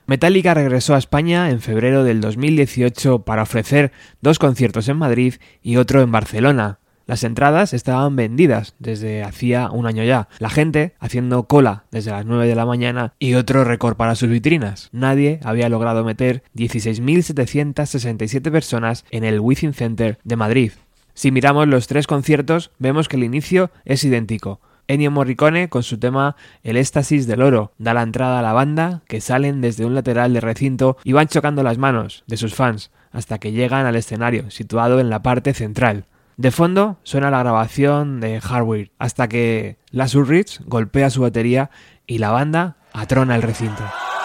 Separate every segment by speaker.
Speaker 1: Metallica regresó a España en febrero del 2018 para ofrecer 2 conciertos en Madrid y otro en Barcelona. Las entradas estaban vendidas desde hacía un año ya. La gente haciendo cola desde las 9 de la mañana y otro récord para sus vitrinas. Nadie había logrado meter 16.767 personas en el Within Center de Madrid. Si miramos los 3 conciertos, vemos que el inicio es idéntico. Ennio Morricone, con su tema El éxtasis del oro, da la entrada a la banda, que salen desde un lateral del recinto y van chocando las manos de sus fans hasta que llegan al escenario, situado en la parte central. De fondo suena la grabación de Hardware, hasta que Lars Ulrich golpea su batería y la banda atrona el recinto.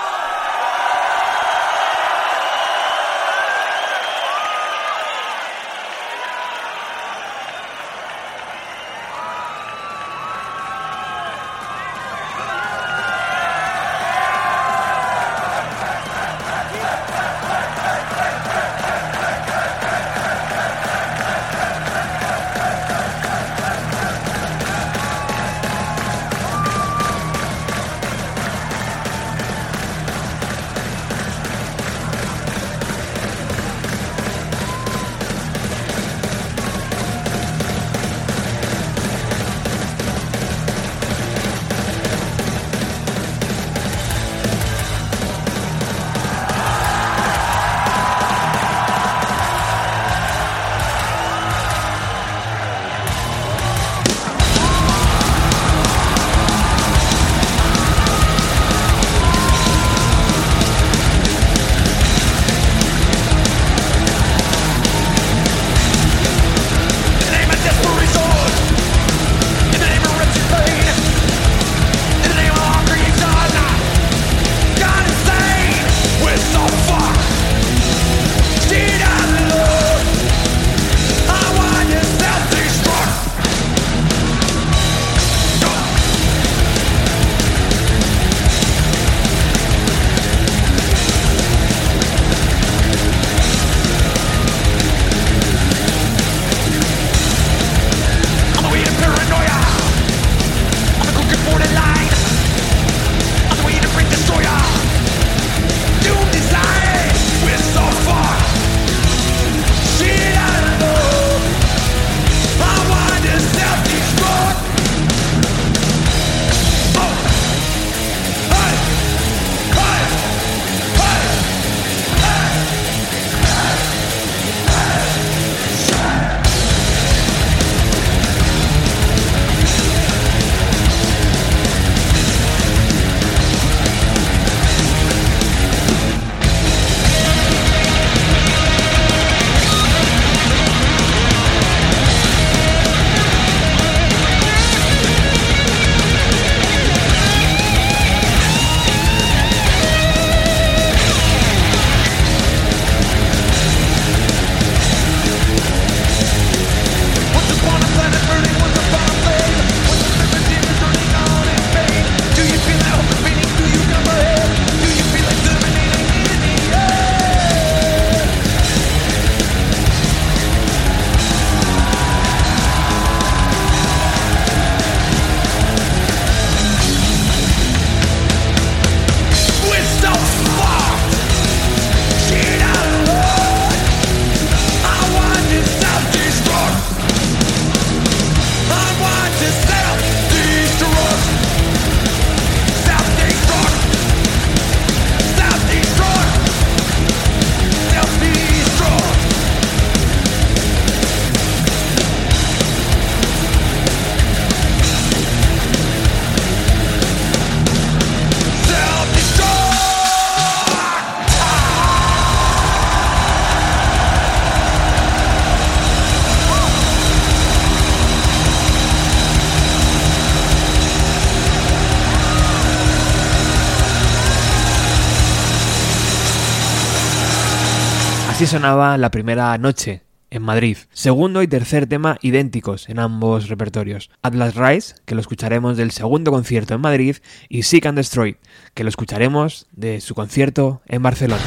Speaker 1: Así sonaba la primera noche en Madrid. Segundo y tercer tema idénticos en ambos repertorios. Atlas Rise, que lo escucharemos del segundo concierto en Madrid, y Seek and Destroy, que lo escucharemos de su concierto en Barcelona.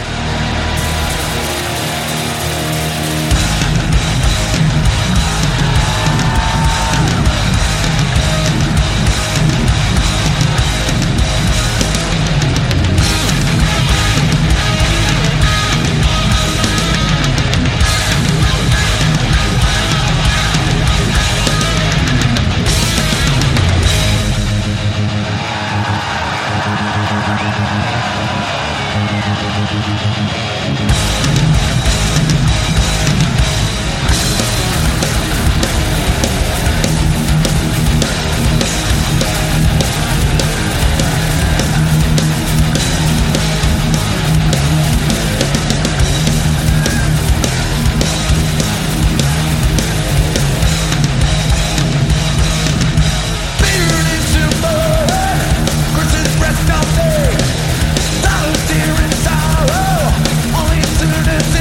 Speaker 2: Rest of me, those tears in sorrow, only to the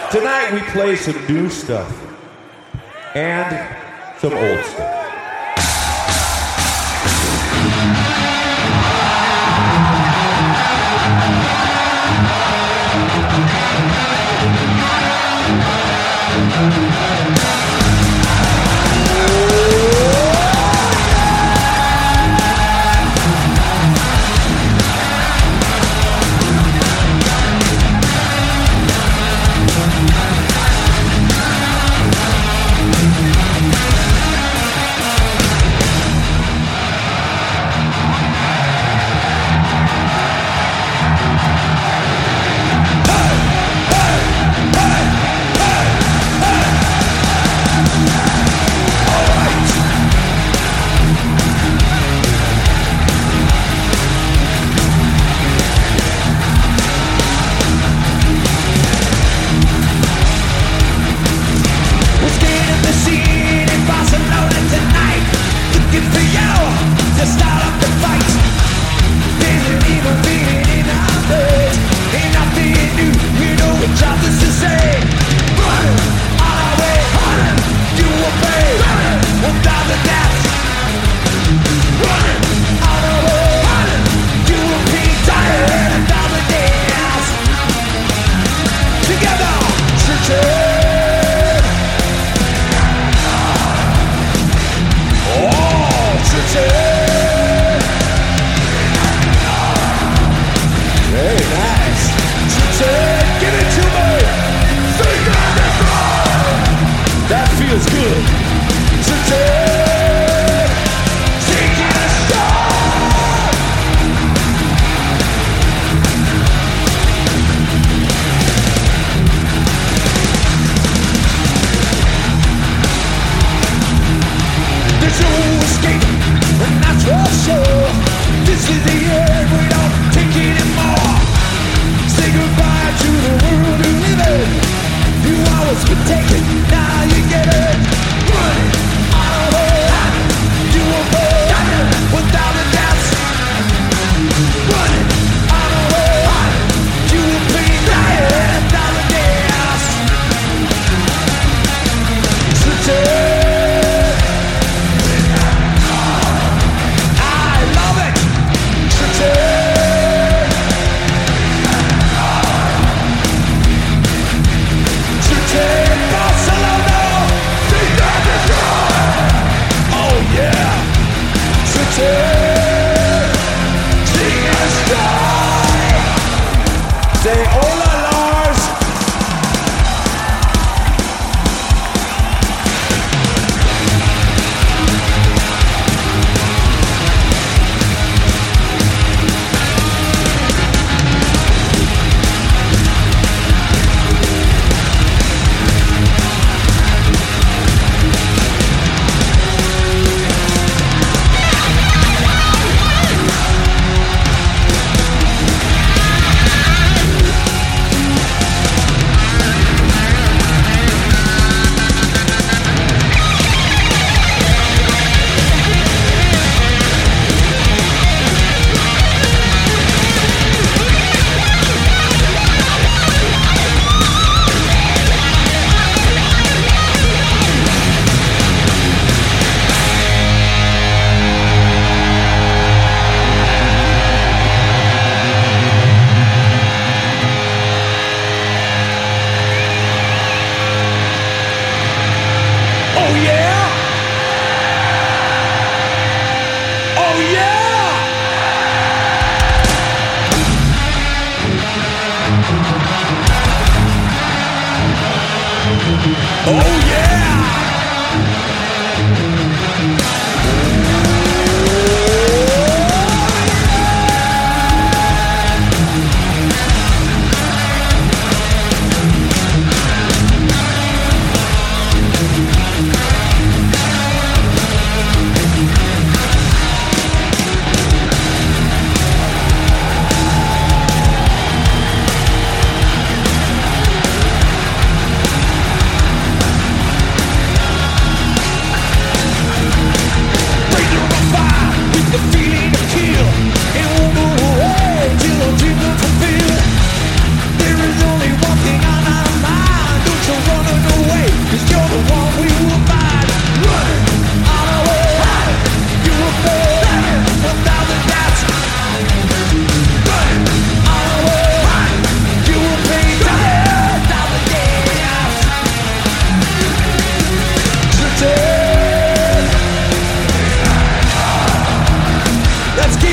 Speaker 2: Tonight we play some new stuff and some old stuff.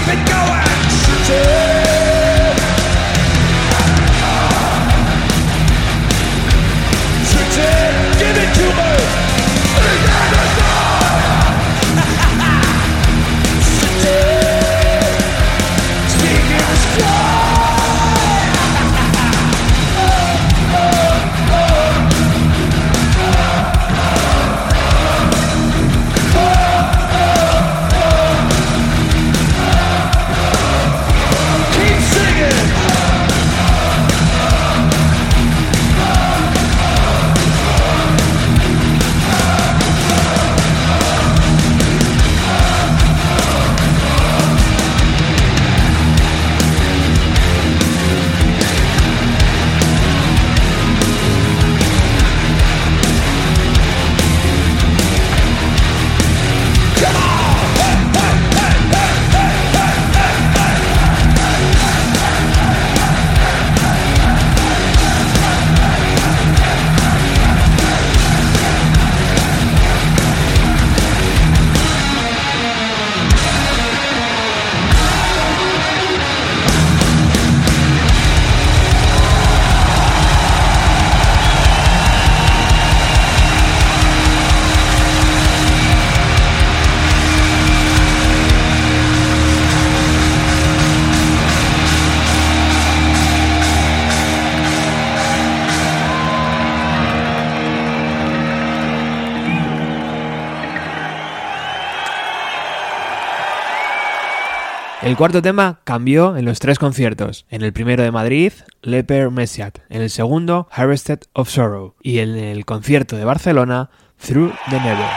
Speaker 1: El cuarto tema cambió en los tres conciertos. En el primero de Madrid, Leper Messiah. En el segundo, Harvested of Sorrow. Y en el concierto de Barcelona, Through the Never.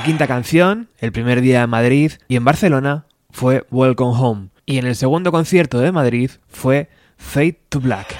Speaker 1: La quinta canción, el primer día en Madrid y en Barcelona, fue Welcome Home. Y en el segundo concierto de Madrid fue Fade to Black.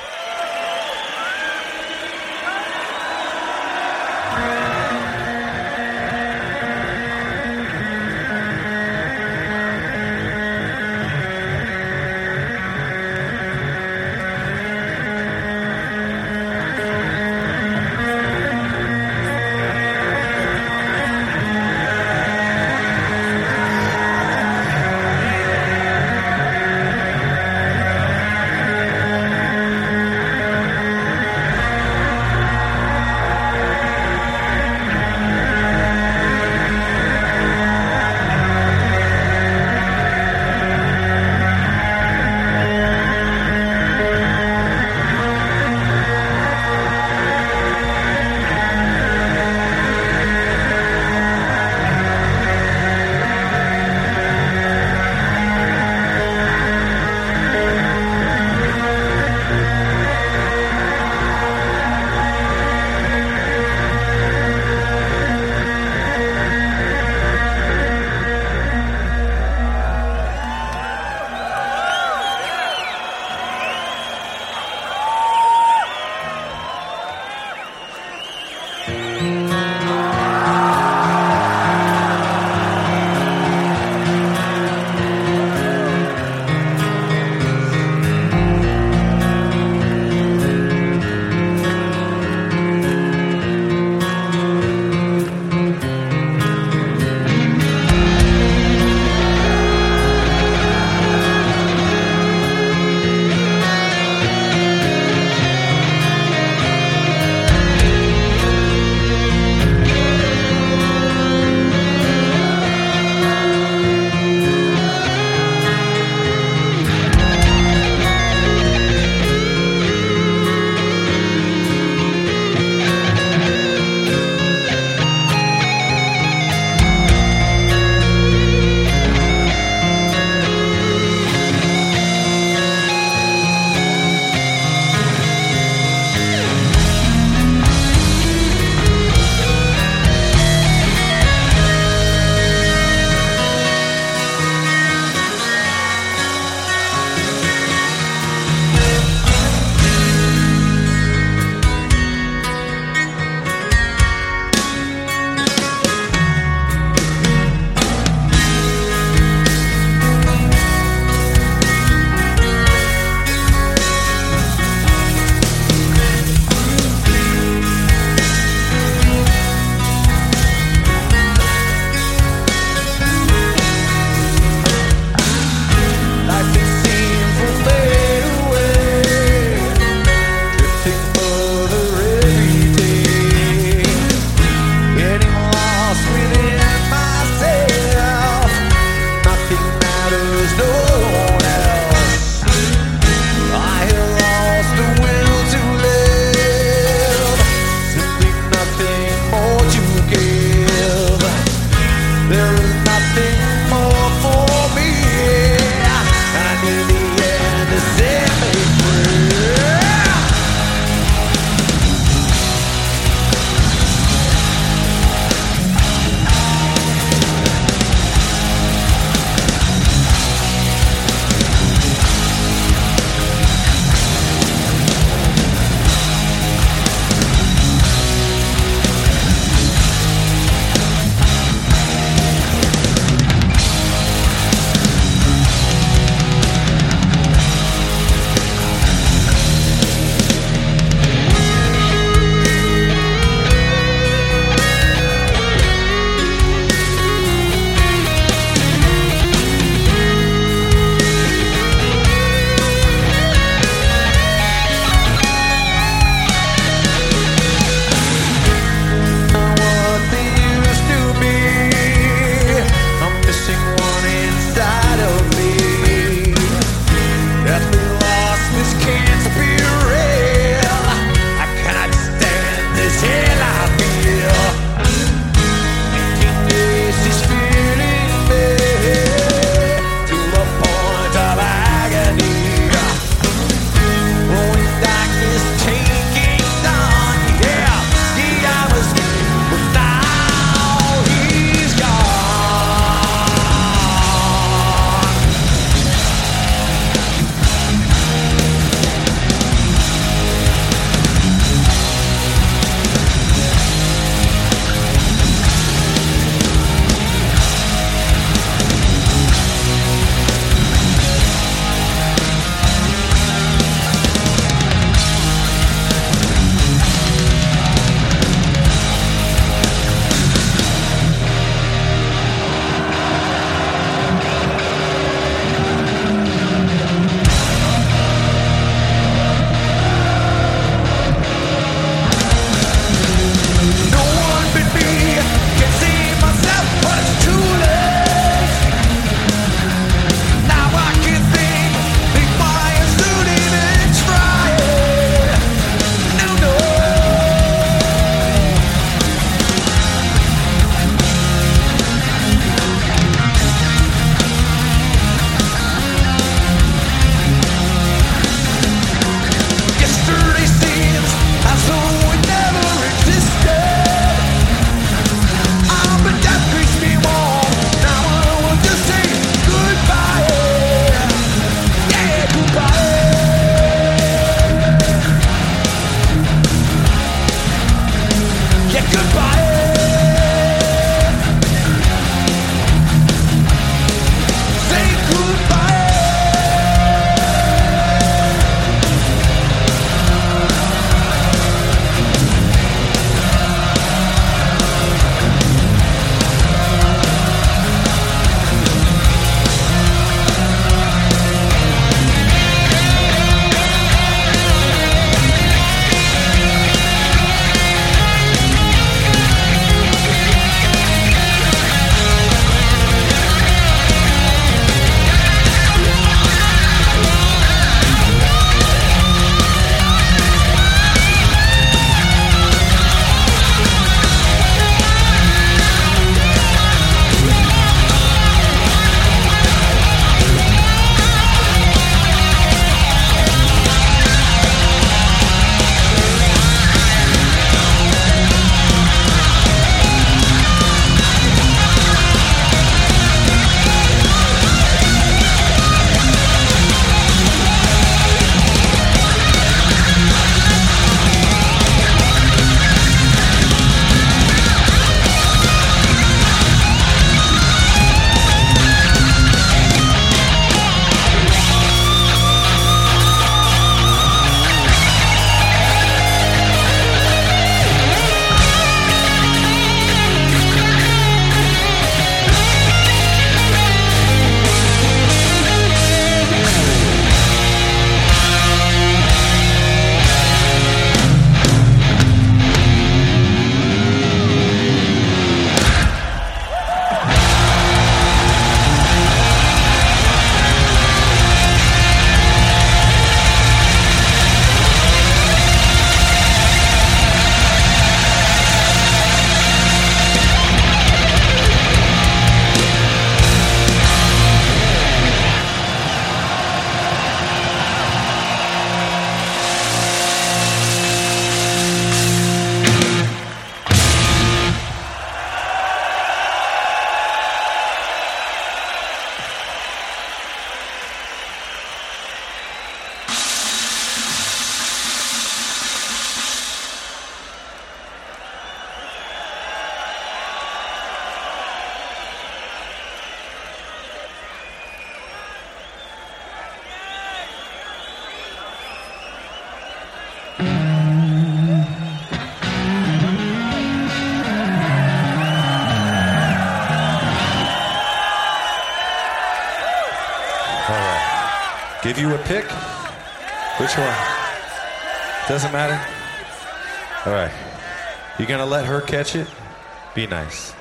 Speaker 2: Give you a pick? Which one? Doesn't matter? All right. You gonna let her catch it? Be nice.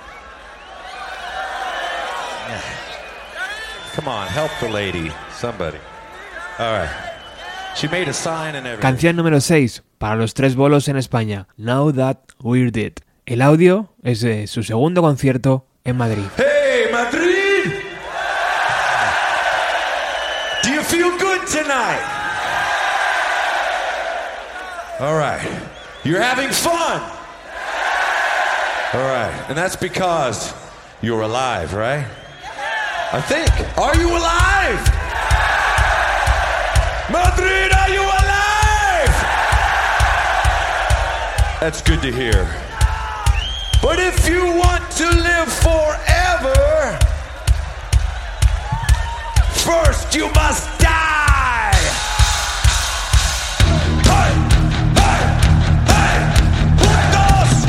Speaker 2: Yeah. Come on, help the lady. Somebody. All right. She made a sign and everything.
Speaker 1: Canción número 6 para los tres bolos en España. Now That We're Dead. El audio es de su segundo concierto en Madrid.
Speaker 2: Hey, Madrid! Do you feel good tonight? All right. You're having fun. All right. And that's because you're alive, right? I think. Are you alive? Madrid, are you alive? That's good to hear. But if you want to live forever, first you must die. Hey, hey, hey, juntos,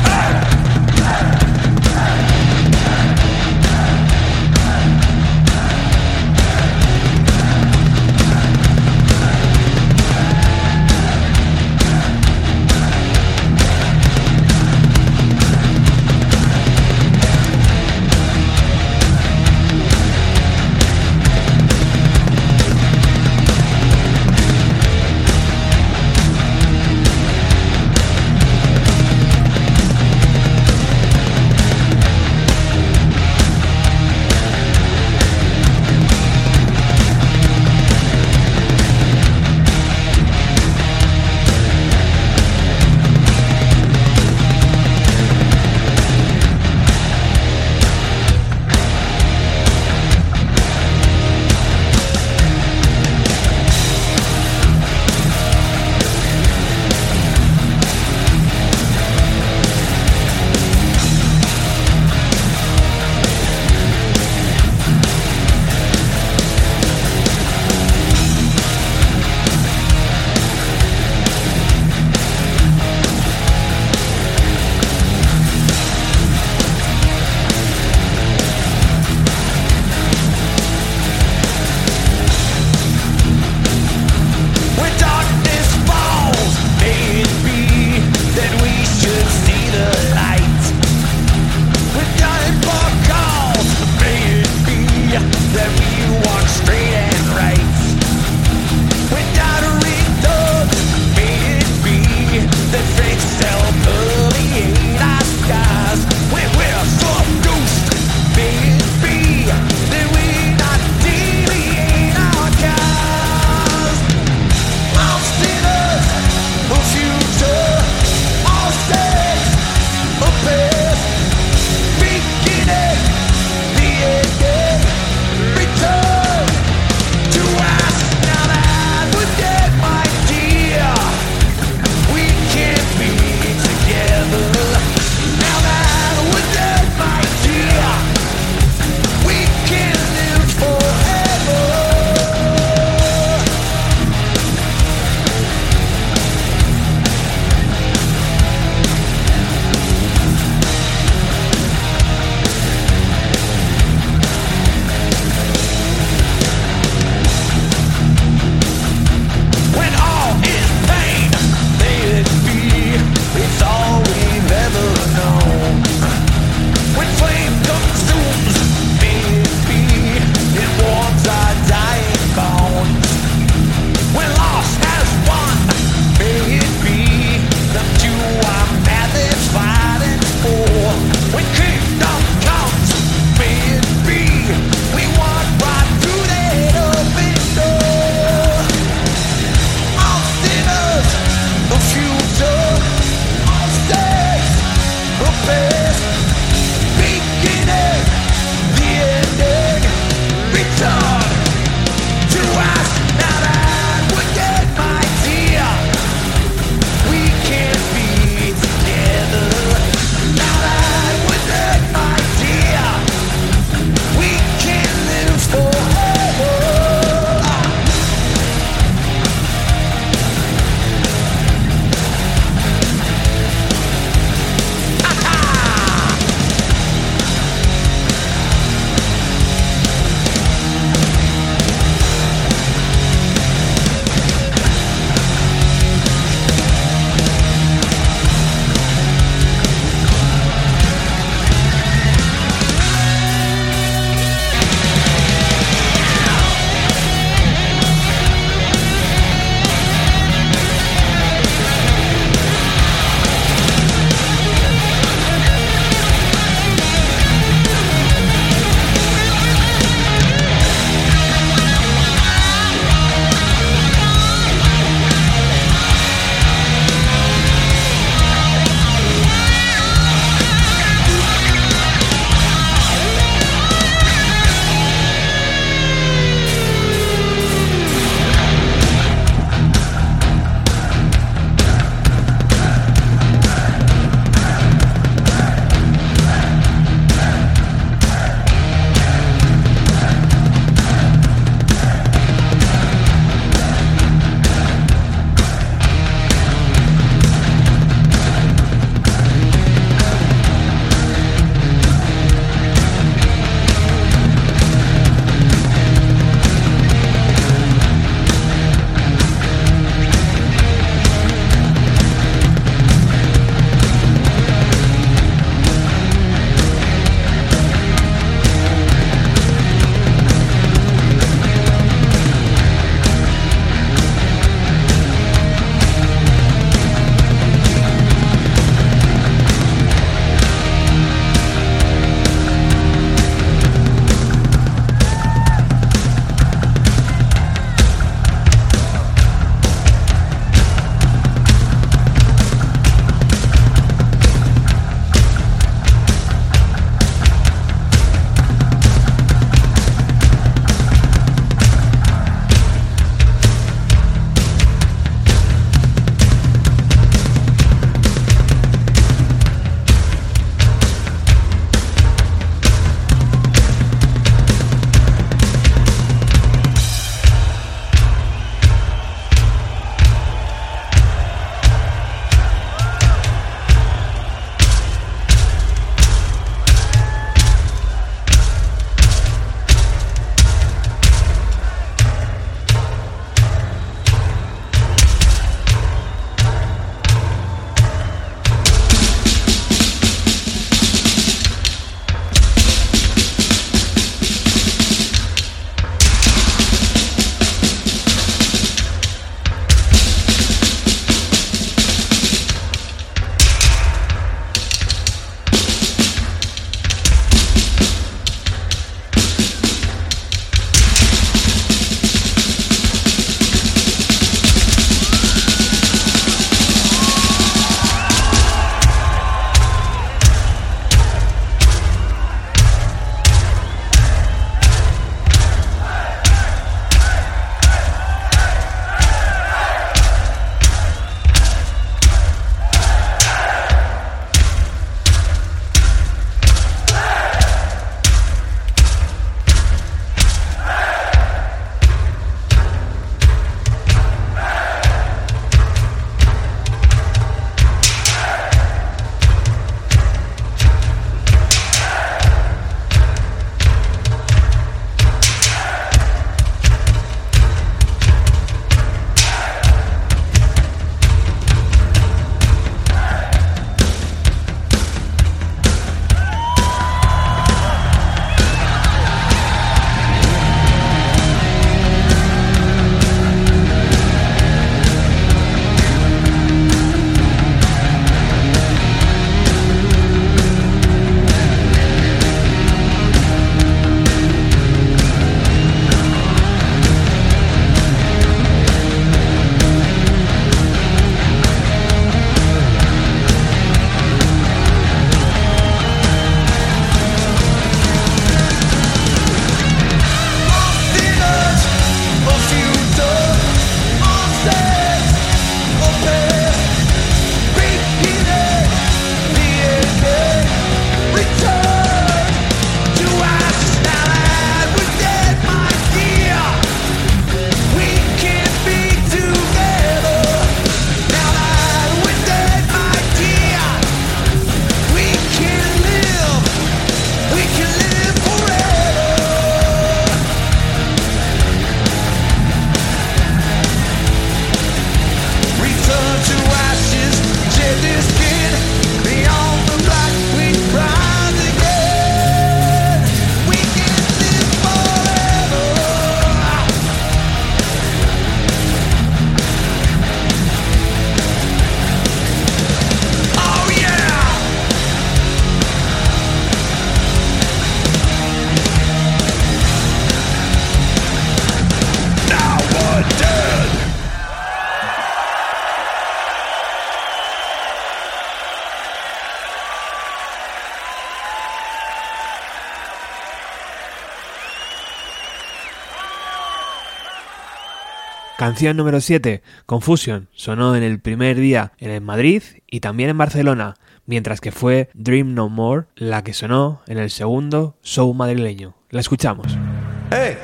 Speaker 1: Canción número 7, Confusion, sonó en el primer día en Madrid y también en Barcelona, mientras que fue Dream No More la que sonó en el segundo show madrileño. La escuchamos.
Speaker 2: Hey.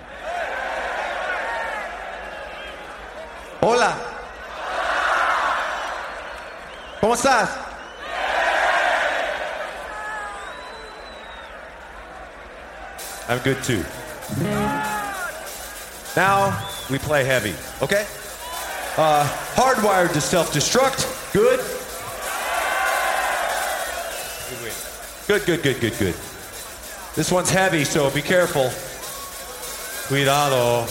Speaker 2: Hola. ¿Cómo estás? I'm good too. Now we play heavy, okay? Hardwired to self-destruct. Good. Good. This one's heavy, so be careful. Cuidado.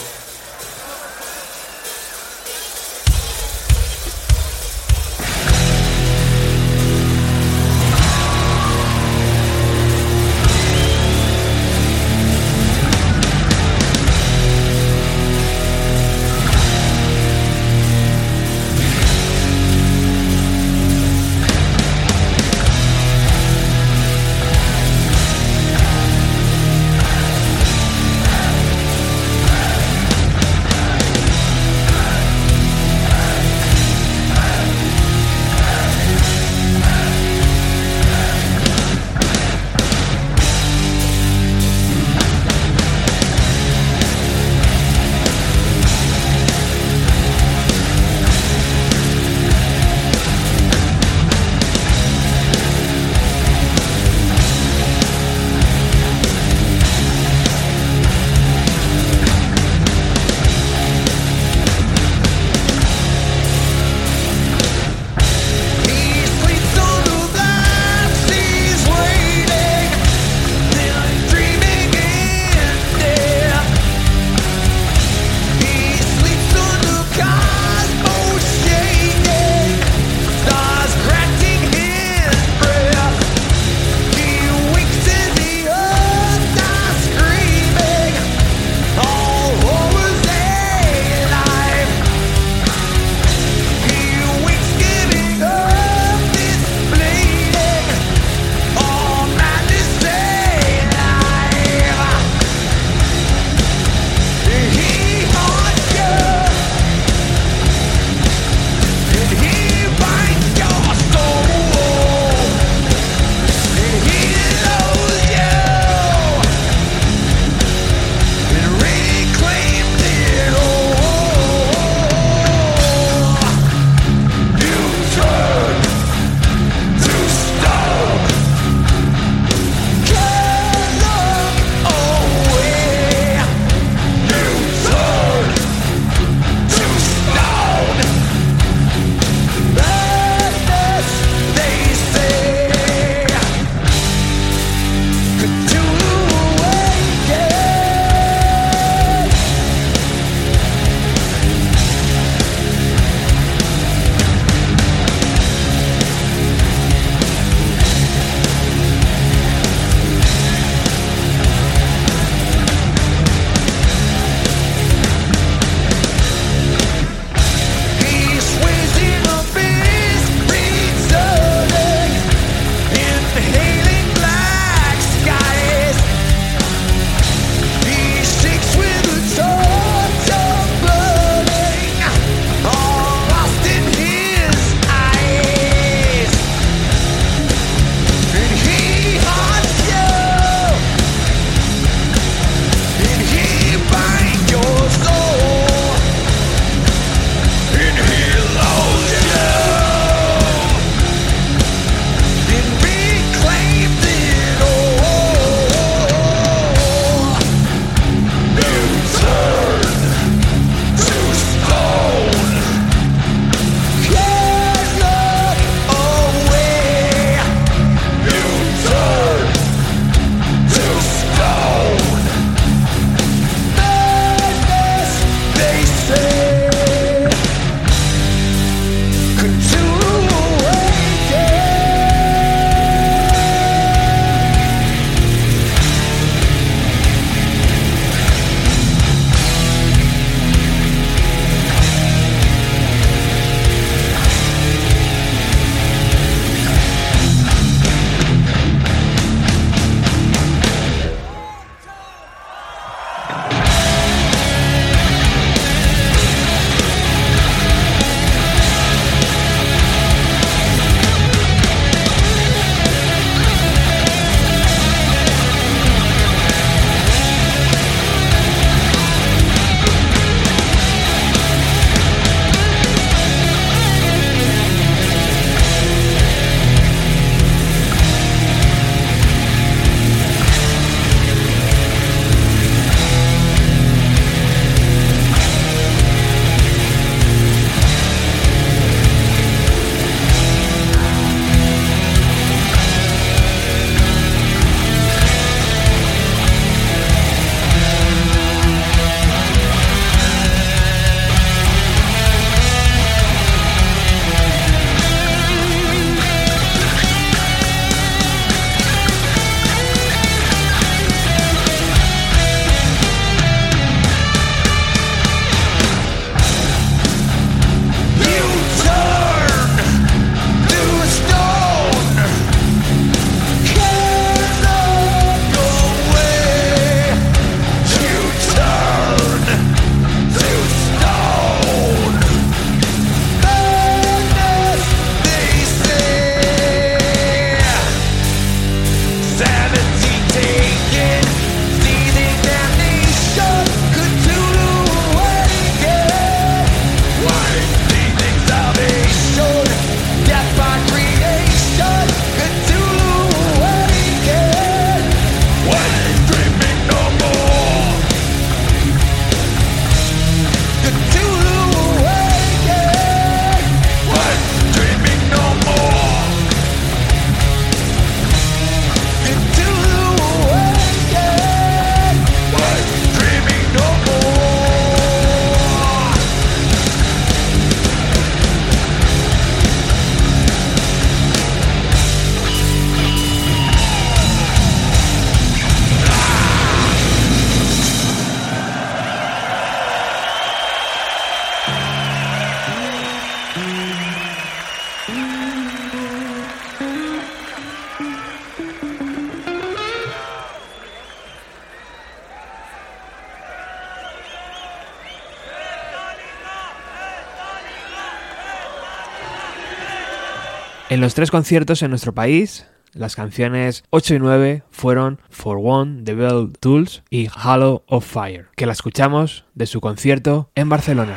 Speaker 1: En los 3 conciertos en nuestro país, las canciones 8 y 9 fueron For One, The Bell Tools y Halo of Fire, que la escuchamos de su concierto en Barcelona.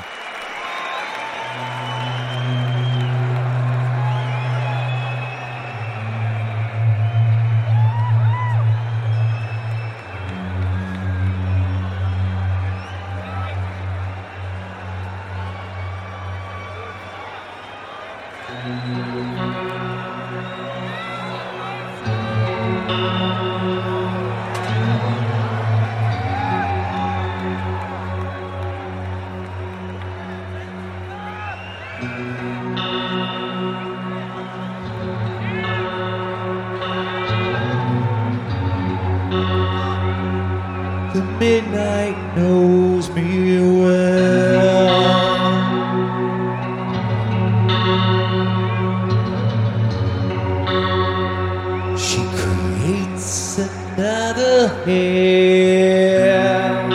Speaker 2: The midnight knows me well. She creates another hell.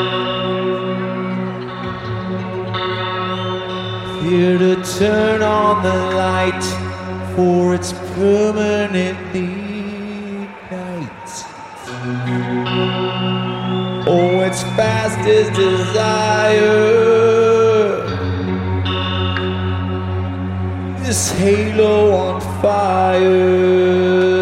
Speaker 2: Here to turn on the light for its permanent night. Oh, its fastest desire. This halo on fire.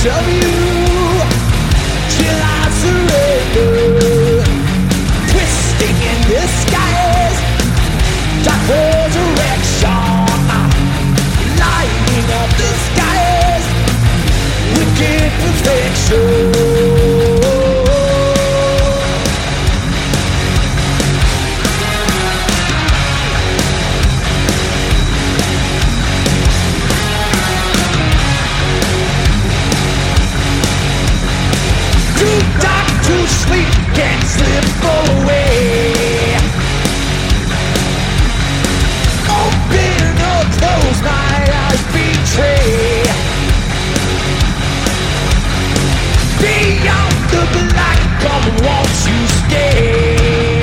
Speaker 3: piece of you till I surrender. Twisting in disguise, dark resurrection, lighting up the skies, wicked perfection. To sleep, can't slip away. Open or close, my eyes betray. Beyond the black, come won't you stay?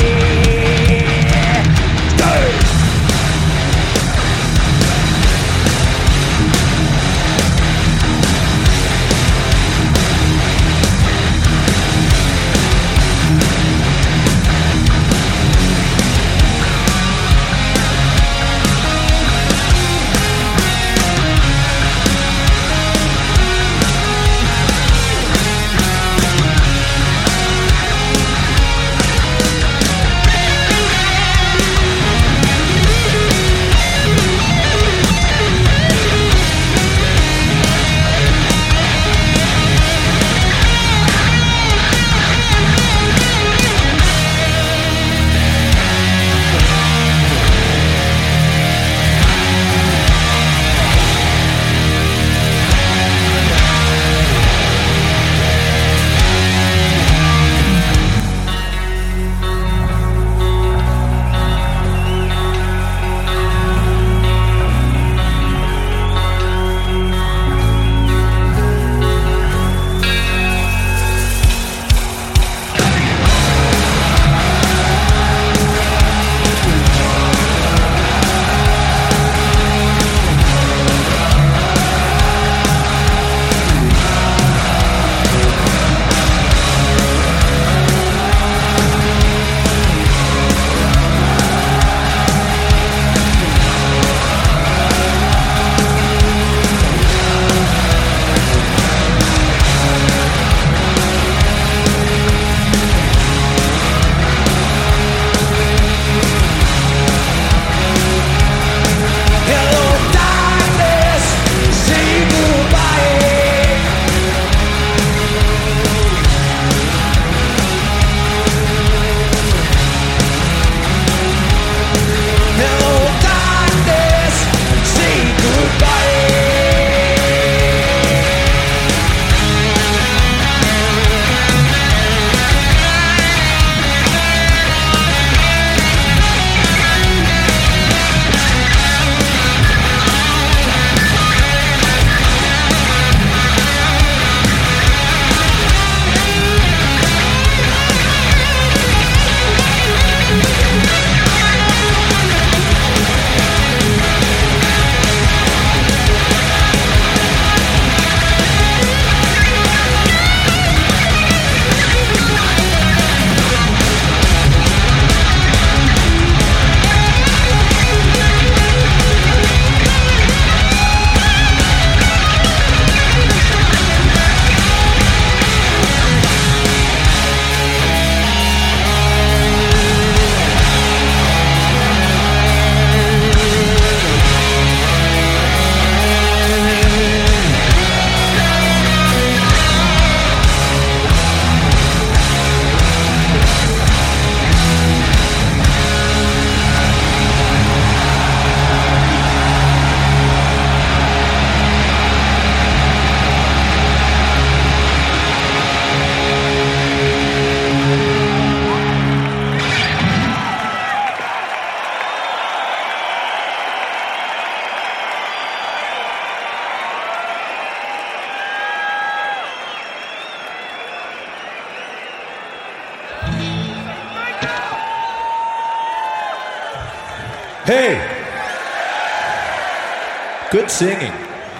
Speaker 2: Hey! Good singing.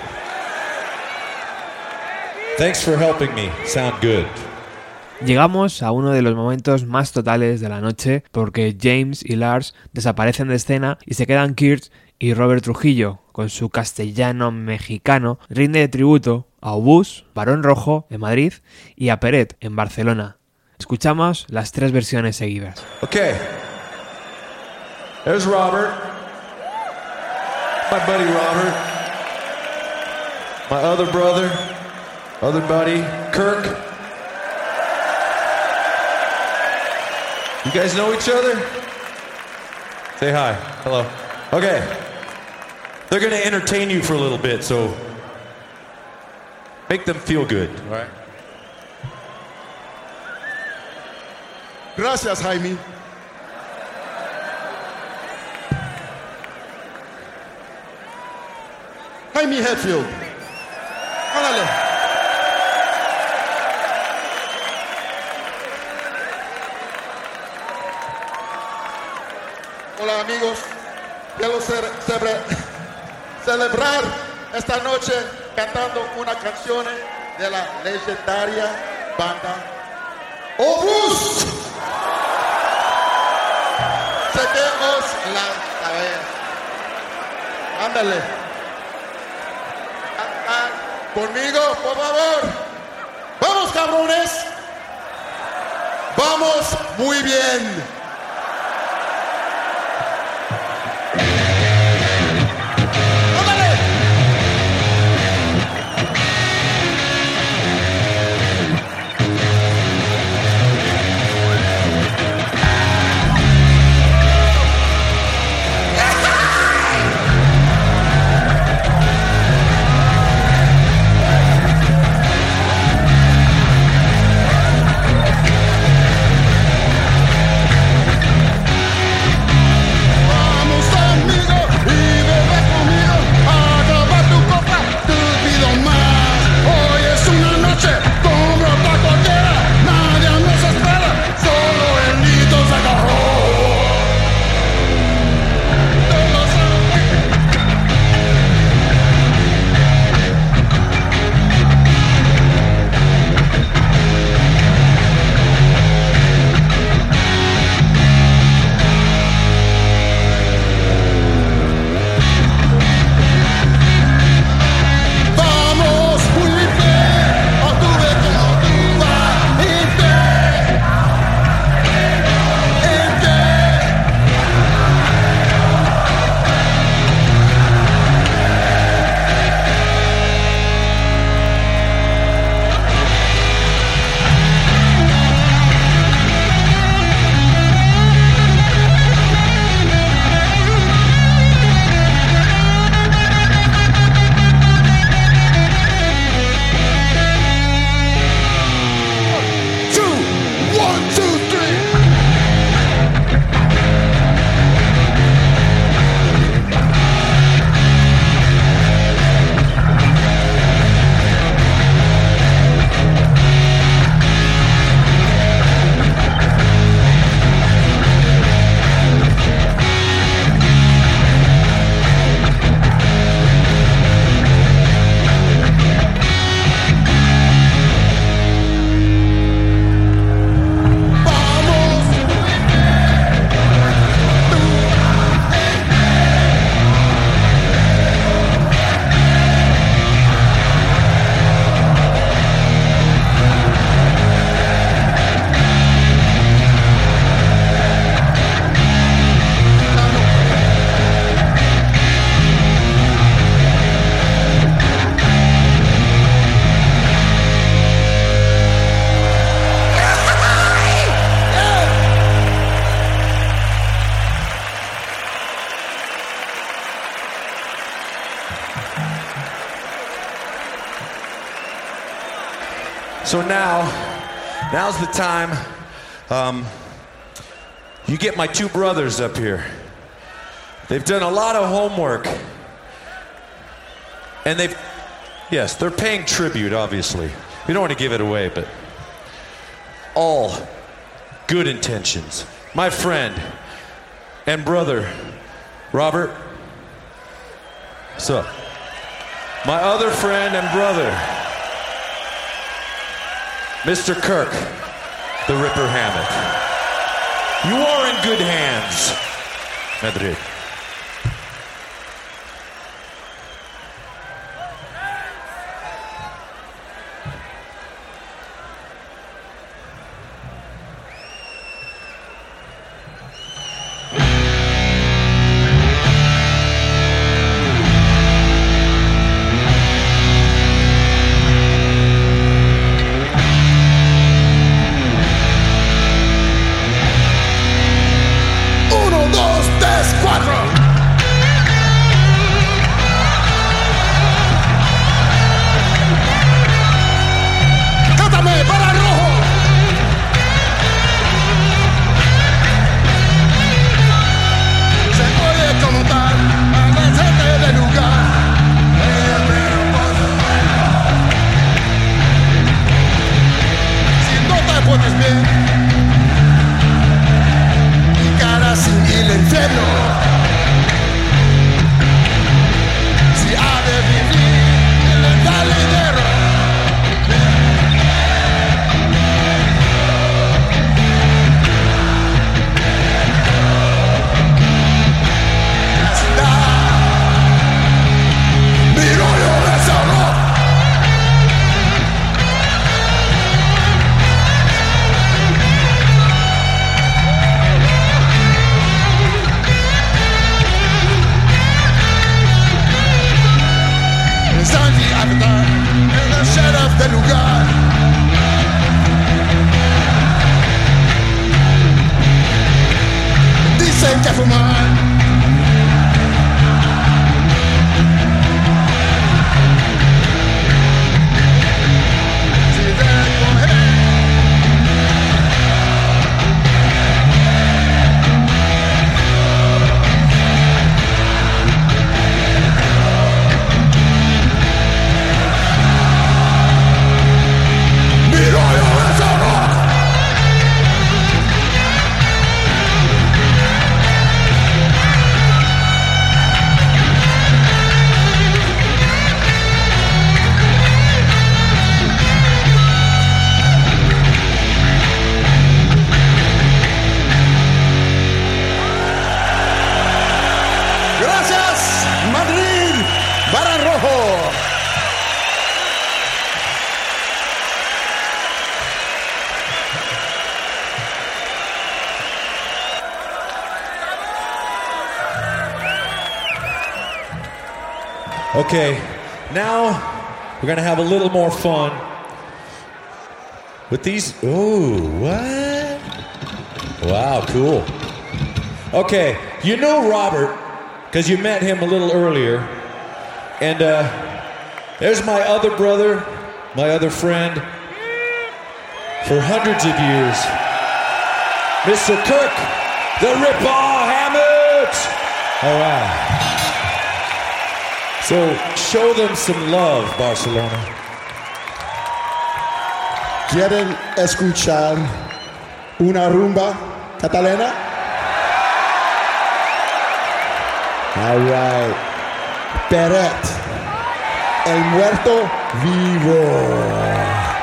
Speaker 2: Thanks for helping me sound good.
Speaker 1: Llegamos a uno de los momentos más totales de la noche porque James y Lars desaparecen de escena y se quedan Kirk y Robert Trujillo, con su castellano mexicano, rinde tributo a Obús, Barón Rojo, en Madrid, y a Peret, en Barcelona. Escuchamos las tres versiones seguidas.
Speaker 2: Okay. There's Robert. My buddy Robert. My other brother. Other buddy, Kirk. You guys know each other? Say hi. Hello. Okay. They're going to entertain you for a little bit, so make them feel good, all right?
Speaker 4: Gracias, Jaime. Jaime Hetfield. Hágale. Hola, amigos. Quiero celebrar esta noche cantando una canción de la legendaria banda Obús. Sequemos la cabeza. Ándale. Cantar conmigo, por favor. Vamos, cabrones. Vamos muy bien.
Speaker 2: So now's the time. You get my two brothers up here. They've done a lot of homework. And they're paying tribute, obviously. We don't want to give it away, but all good intentions. My friend and brother, Robert. So, my other friend and brother, Mr. Kirk, the Ripper Hammett. You are in good hands, Madrid.
Speaker 4: capitán, el sheriff del lugar. Dicen que fumar.
Speaker 2: Okay, now we're gonna have a little more fun with these. Ooh, what? Wow, cool. Okay, you know Robert, because you met him a little earlier. And there's my other brother, my other friend, for hundreds of years, Mr. Kirk, the Ripper Hammett. All right. So show them some love, Barcelona.
Speaker 4: ¿Quieren escuchar una rumba catalana? All right. Peret, el muerto vivo.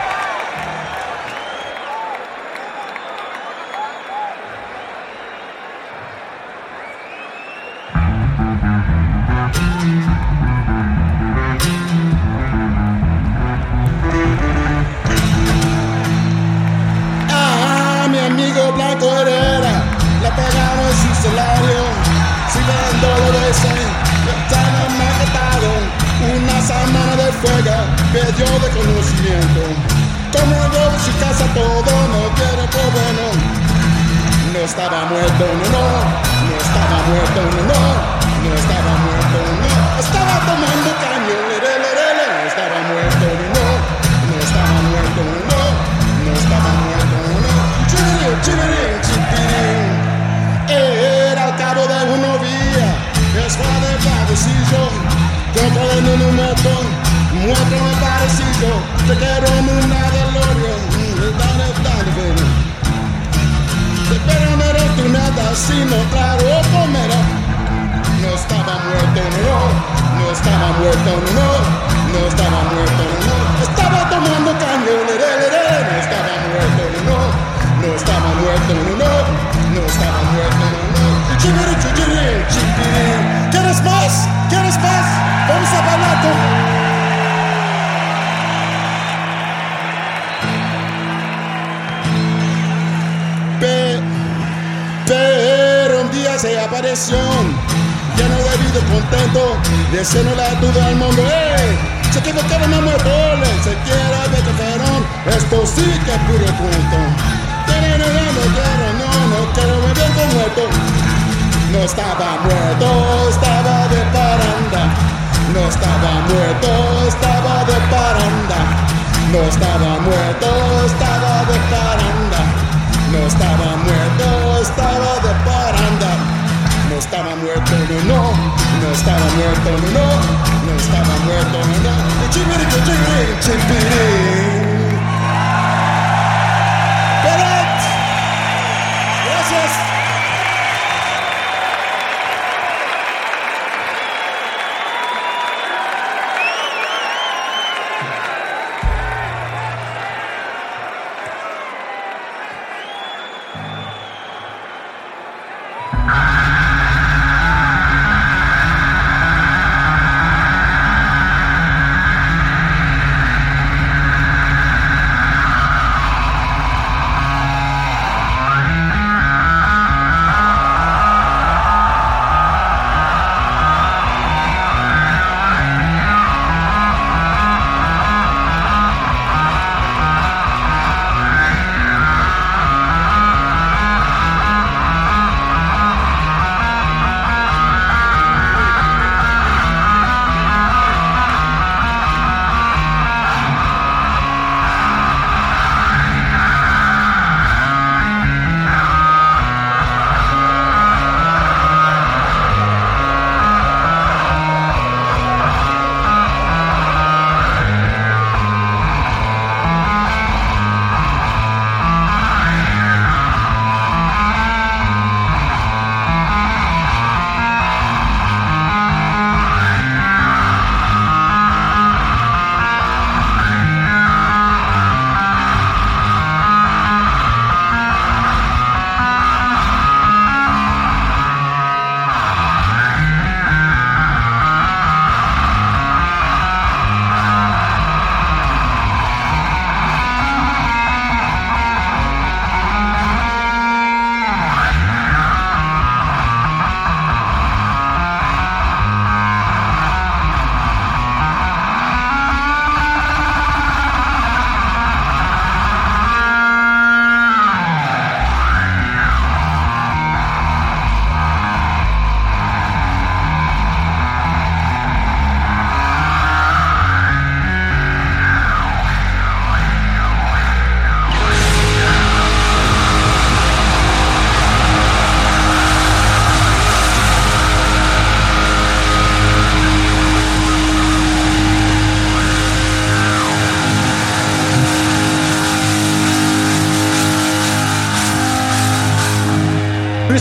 Speaker 4: Blanco Herrera, la pegamos en su salario, siguiendo lo de ese, ya no me ha quitado una semana de fuego, perdió de conocimiento, como en robo su casa todo no quiere por bueno, no estaba muerto, no estaba muerto, no estaba muerto, estaba tomando caño, no estaba muerto, no estaba muerto, no estaba muerto, era al cabo de una vía, después de padecillo, contra el monumento, muestro el parecido, te quiero en una DeLorean, pero mero tu nada, sin mostrar o comer, no estaba muerto, no estaba muerto, no estaba muerto, estaba tomando caño, no estaba muerto, no estaba muerto, no estaba muerto, ¿Quieres más? ¿Quieres más? Vamos a bailar Pero un día se apareció, lleno de vida contento, diciéndole a todo el mundo, se equivocaron a muertos, se quiere ver que fueron, esto sí que es puro cuento. No quiero beber con muerto. No estaba muerto, estaba de paranda. No estaba muerto, estaba de paranda. No estaba muerto, estaba de paranda. No estaba muerto, estaba de paranda. No estaba muerto, no estaba muerto, no estaba muerto, Chipiri.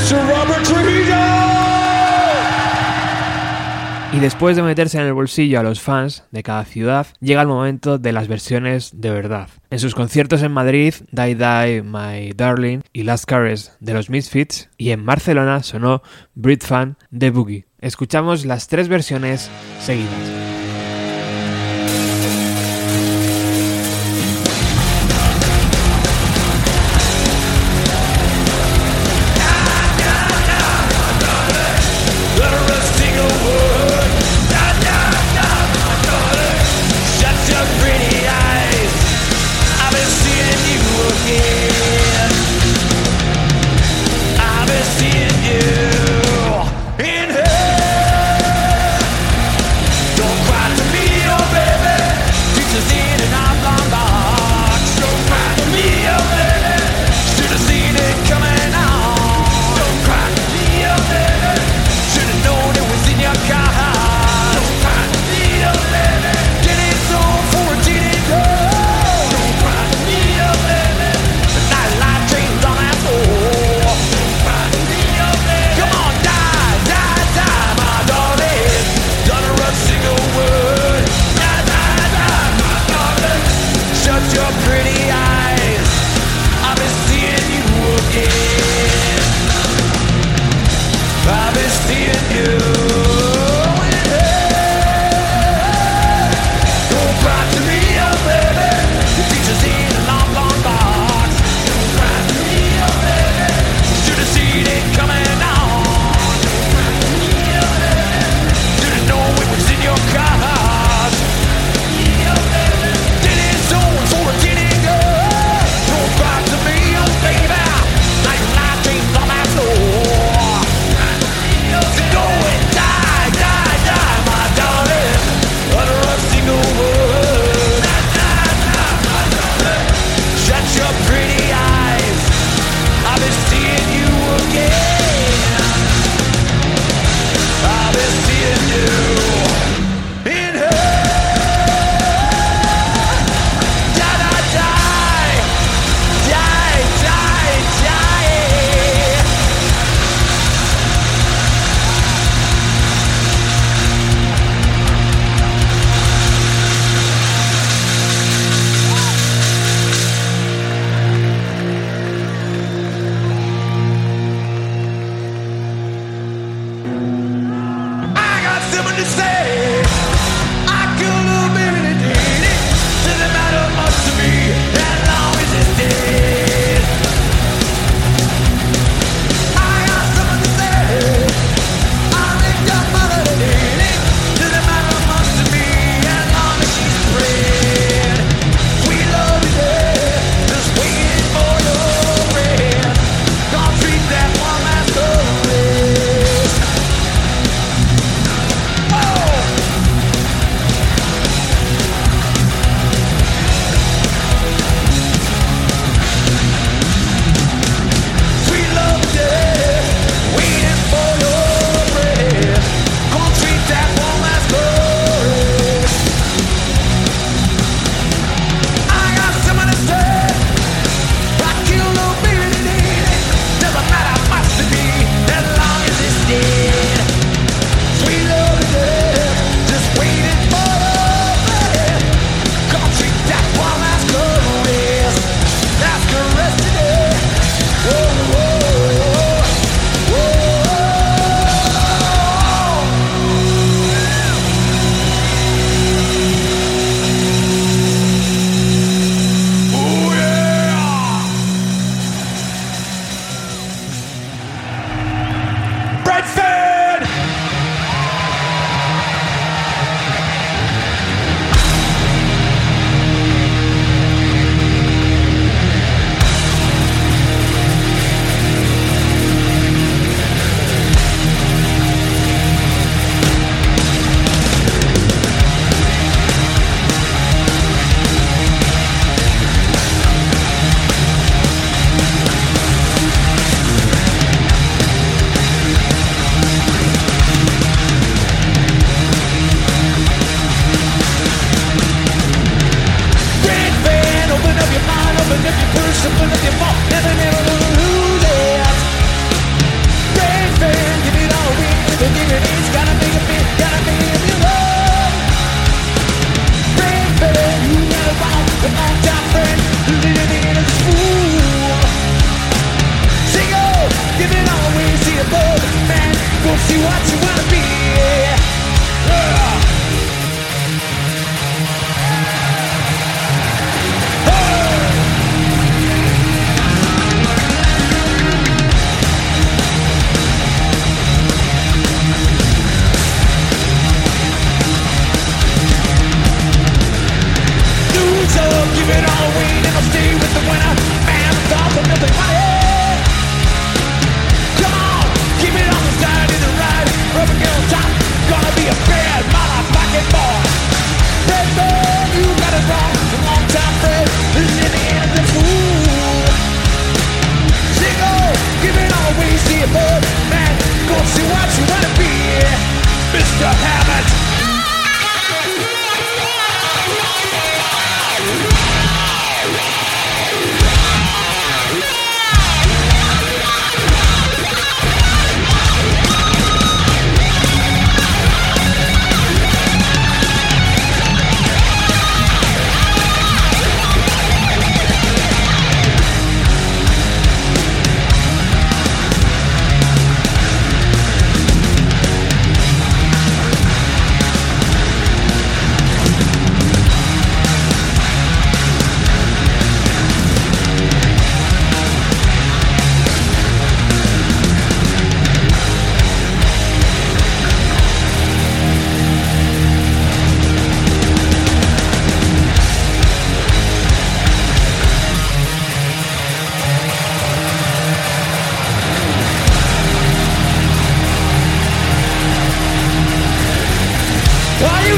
Speaker 4: Sir Robert Trujillo.
Speaker 1: Y después de meterse en el bolsillo a los fans de cada ciudad, llega el momento de las versiones de verdad. En sus conciertos en Madrid, Die Die, My Darling y Last Caress de los Misfits, y en Barcelona sonó Brit Fan de Boogie. Escuchamos las 3 versiones seguidas.
Speaker 3: Don't cry.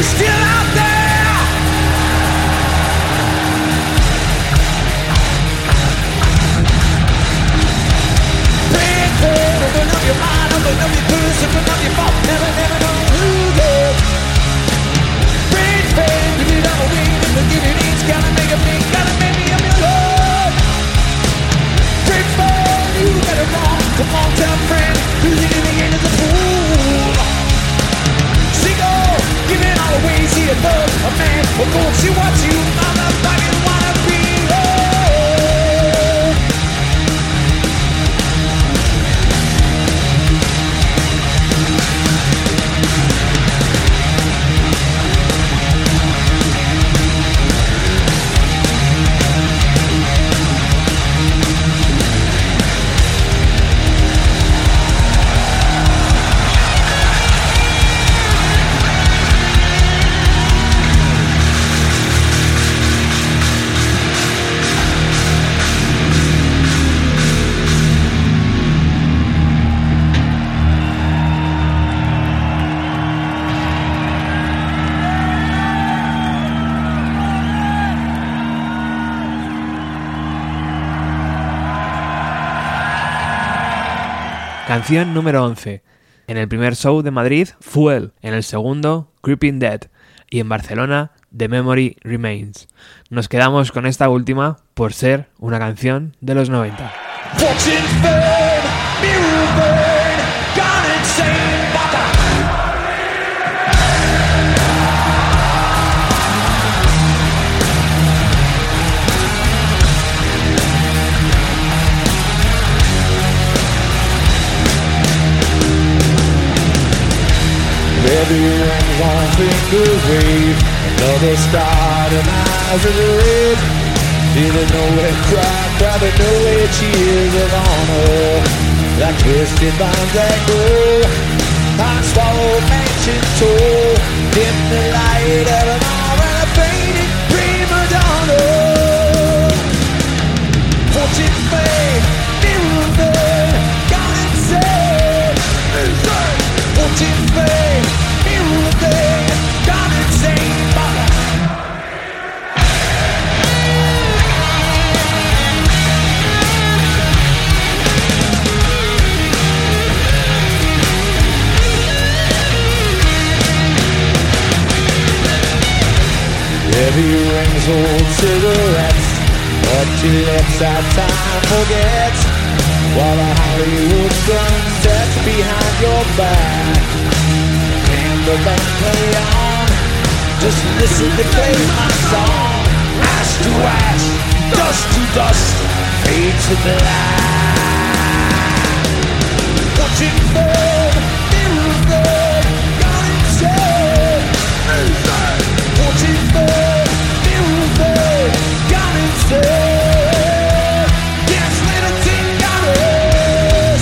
Speaker 3: still out there. Pain, pain, open up your mind, open up your purse, open up your mouth, never, never know who goes. Pain, pain, give it all away, never give it each, gotta make a big, gotta make me a million. Pain, pain, you got it wrong, come on, tell a friend, who's in the end is a fool. Seagull, give it all away, see a thug, a man, a gold, see what you motherfucking wanna be.
Speaker 1: Canción número 11. En el primer show de Madrid, Fuel. En el segundo, Creeping Dead. Y en Barcelona, The Memory Remains. Nos quedamos con esta última por ser una canción de los 90.
Speaker 3: Baby rings on fingers wave, another start and eyes of red. Didn't know where to cry, probably know where tears of honor. Like twisted vines that grow, I swallow mansion toll. Dim the light of an hour and a faded prima donna. Fortune fade, mirror man, gone insane. Fortune fade, mirror man, gone insane. Heavy rings, old cigarettes, empty lips that time forgets. While the Hollywood sun sets behind your back, and the band play on, just listen to play my song. Ash to ash, dust to dust, fade to black. Watching burn, mirror burn, gone insane. Watching burn, mirror burn, gone insane. Yes, little ting got us.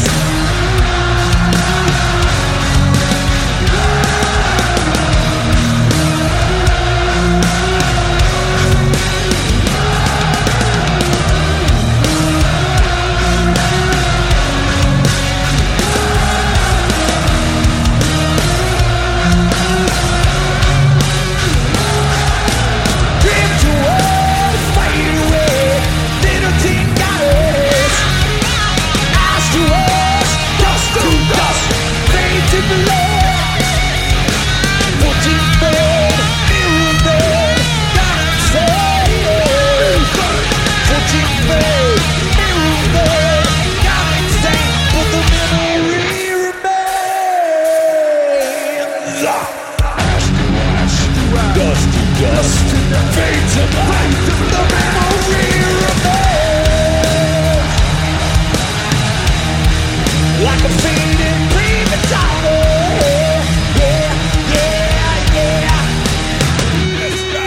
Speaker 3: Like a fading prima donna. Yeah, yeah, yeah. Let's go.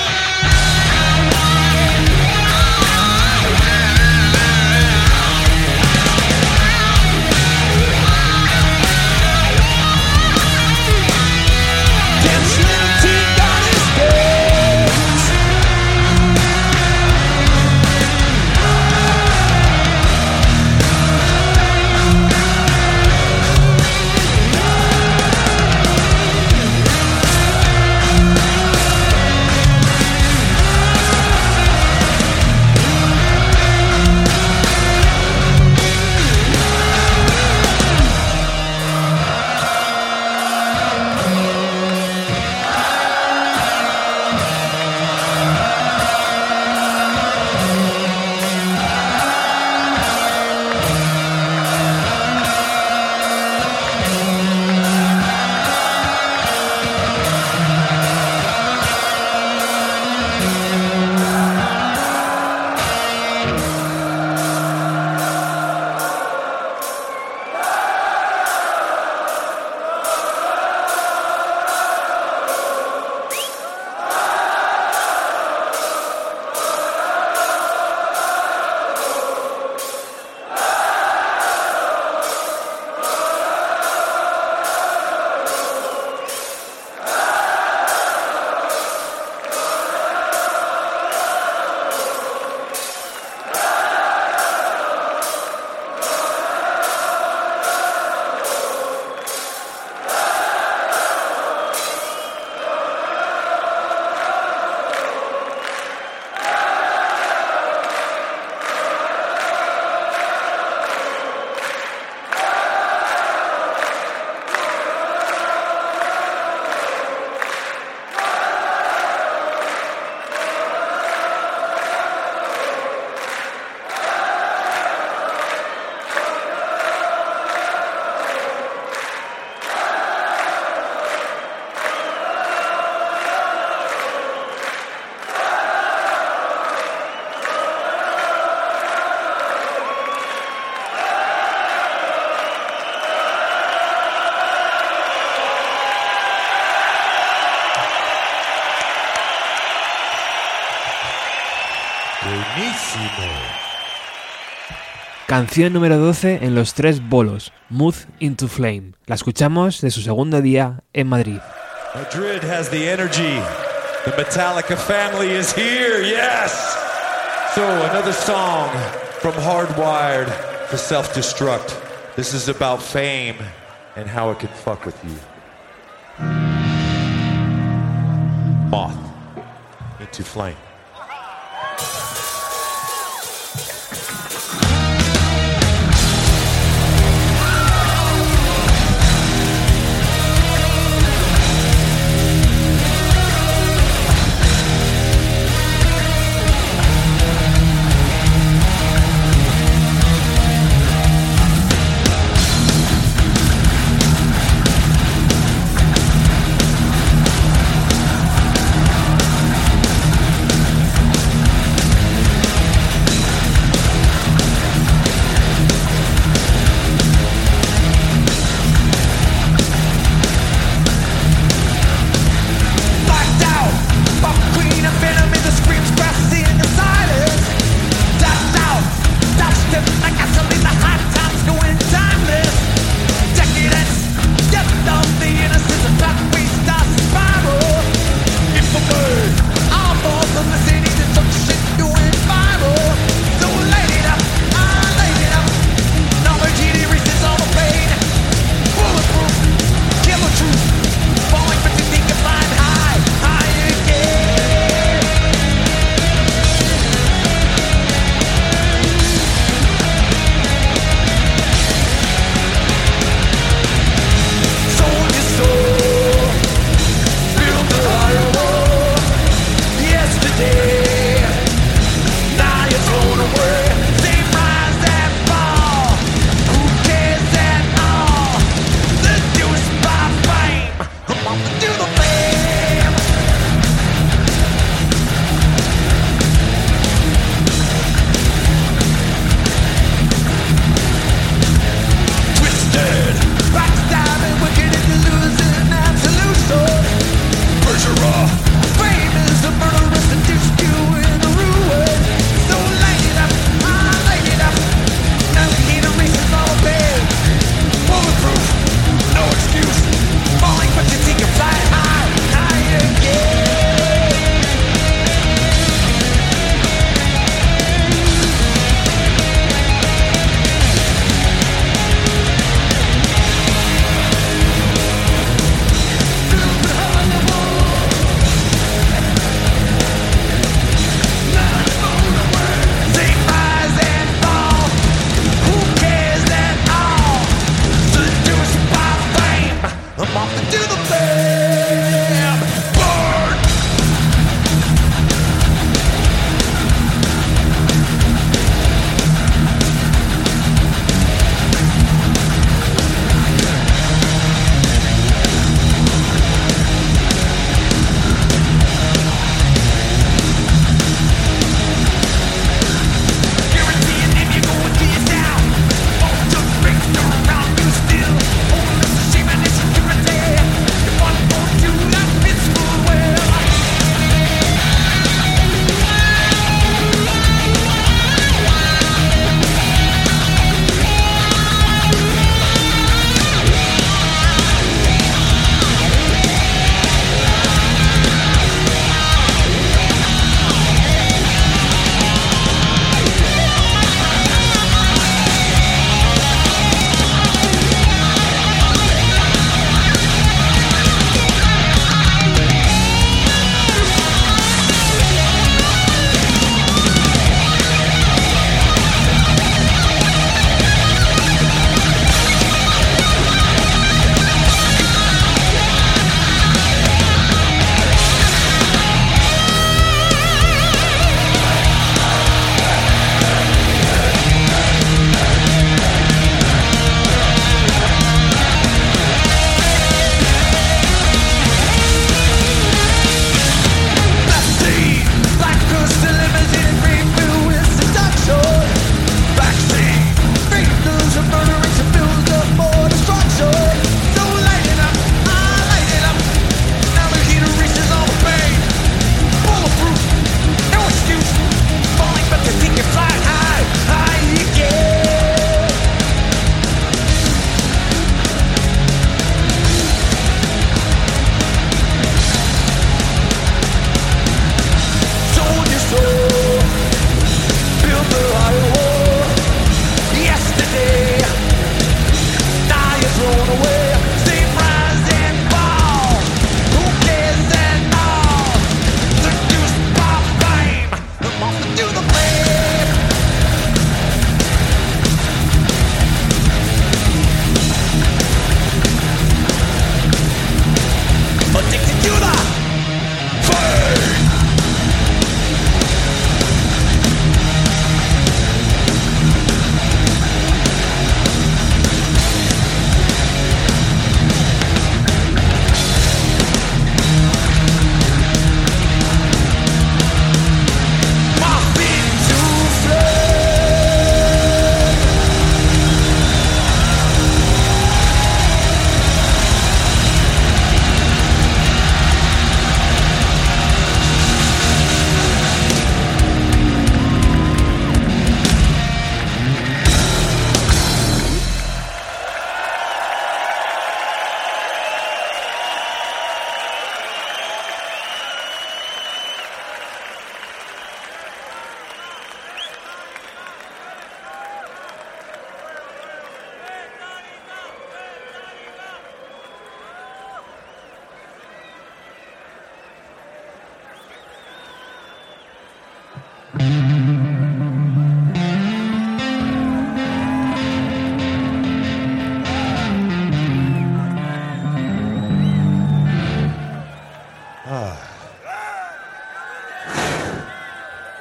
Speaker 3: Dance little ting on his dance.
Speaker 2: Buenísimo.
Speaker 1: Canción número 12 en los 3 bolos, Move into Flame. La escuchamos de su segundo día en Madrid.
Speaker 2: Madrid has the energy. The Metallica family is here, yes! So, another song from Hardwired for Self-Destruct. This is about fame and how it can fuck with you. Moth into Flame.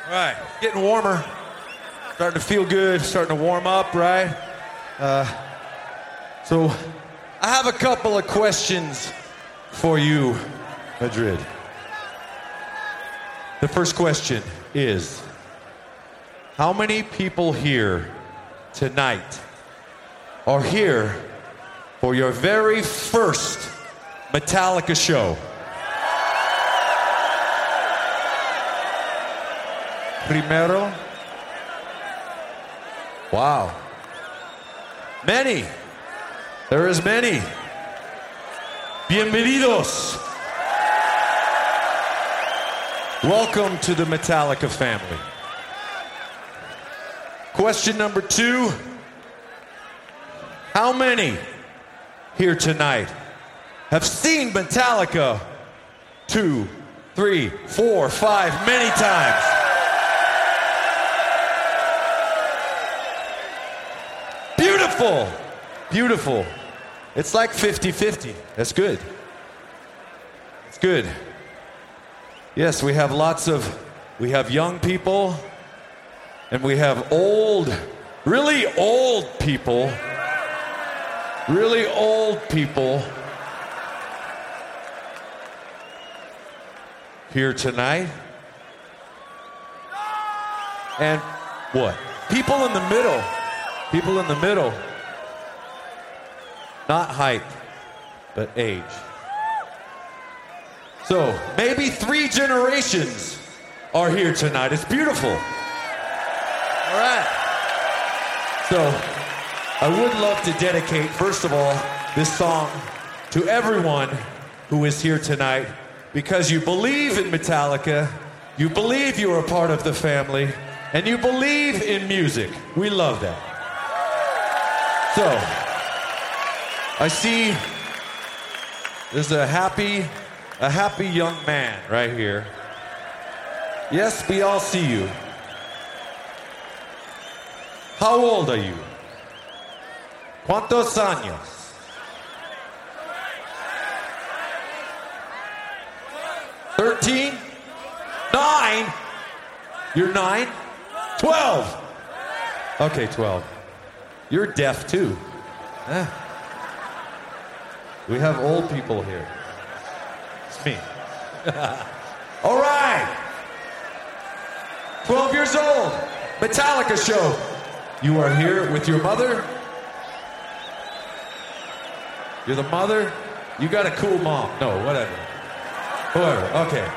Speaker 2: All right, getting warmer. Starting to feel good, starting to warm up, right? So I have a couple of questions for you, Madrid. The first question is, how many people here tonight are here for your very first Metallica show? Primero? Wow. Many. There is many. Bienvenidos. Welcome to the Metallica family. Question number 2. How many here tonight have seen Metallica 2, 3, 4, 5, many times? Beautiful. Beautiful. It's like 50-50. That's good. It's good. Yes, we have young people, and we have really old people here tonight. And what? People in the middle. Not height, but age. So, maybe 3 generations are here tonight. It's beautiful. All right. So, I would love to dedicate, first of all, this song to everyone who is here tonight because you believe in Metallica, you believe you are a part of the family, and you believe in music. We love that. So, I see there's a happy young man right here. Yes, we all see you. How old are you? ¿Cuántos años? $13? 9? You're 9? 12? Okay, 12. You're deaf too. We have old people here. It's me. All right. 12 years old. Metallica show. You are here with your mother? You're the mother? You got a cool mom. No, whatever. Whoever. Okay.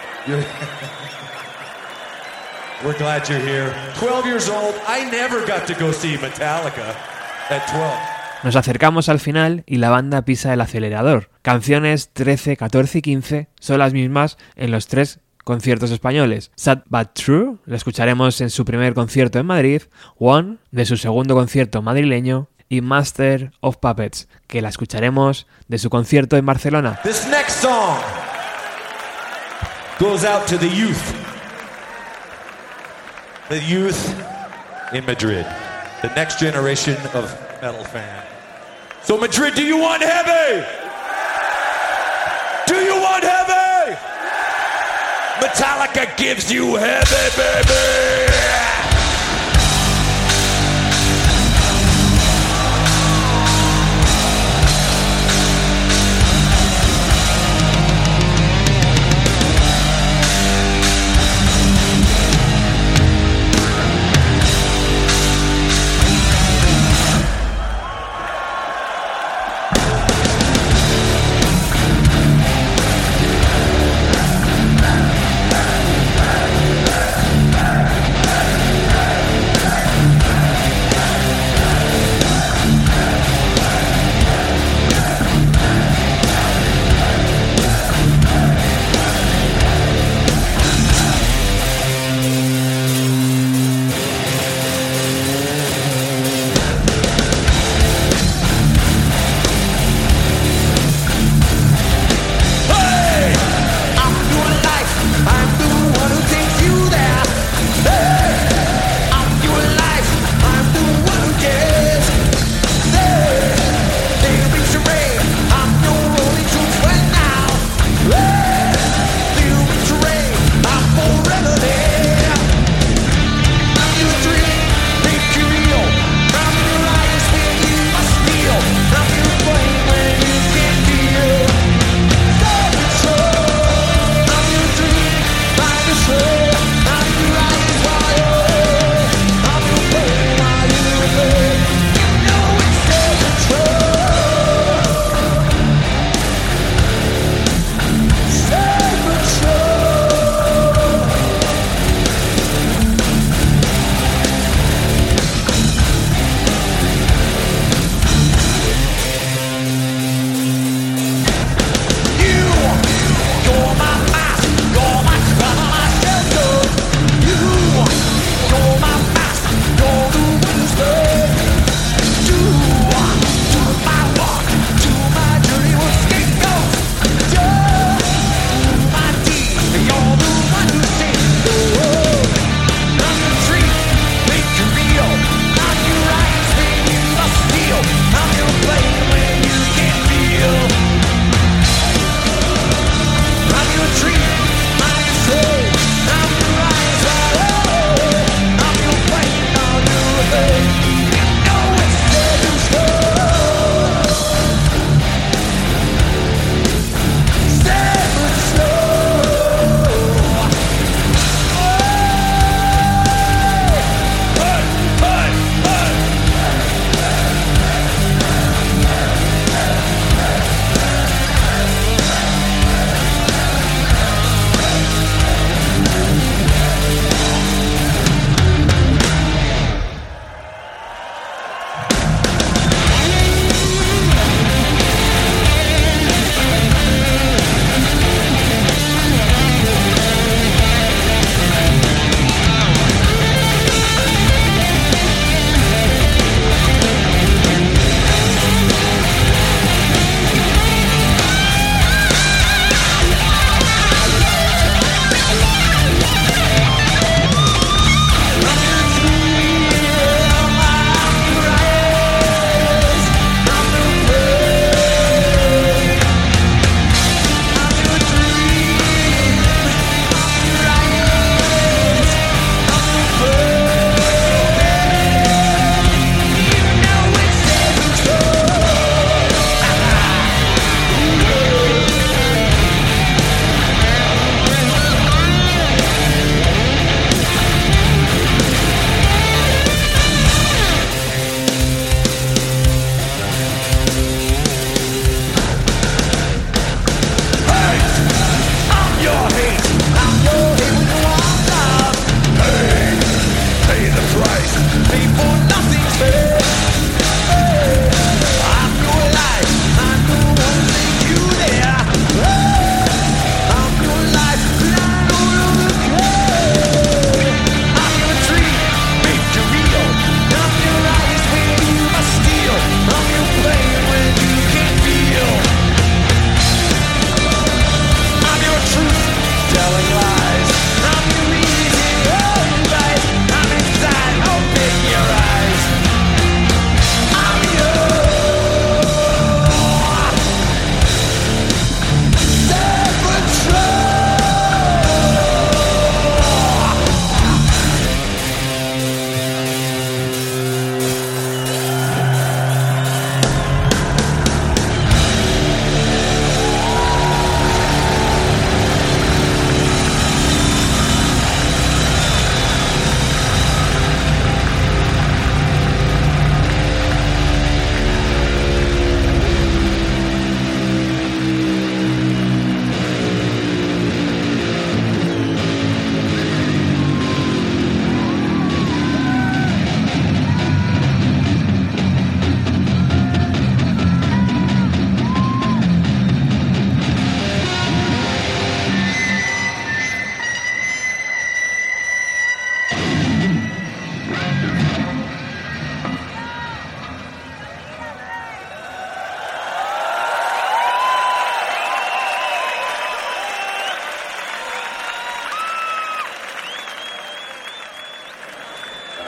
Speaker 2: We're glad you're here. 12 years old. I never got to go see Metallica at 12.
Speaker 1: Nos acercamos al final y la banda pisa el acelerador. Canciones 13, 14 y 15 son las mismas en los 3 conciertos españoles. Sad But True lo escucharemos en su primer concierto en Madrid, One de su segundo concierto madrileño y Master of Puppets, que la escucharemos de su concierto en Barcelona.
Speaker 2: This next song goes out to the youth. The youth in Madrid. The next generation of metal fan. So Madrid, do you want heavy? Do you want heavy? Metallica gives you heavy, baby!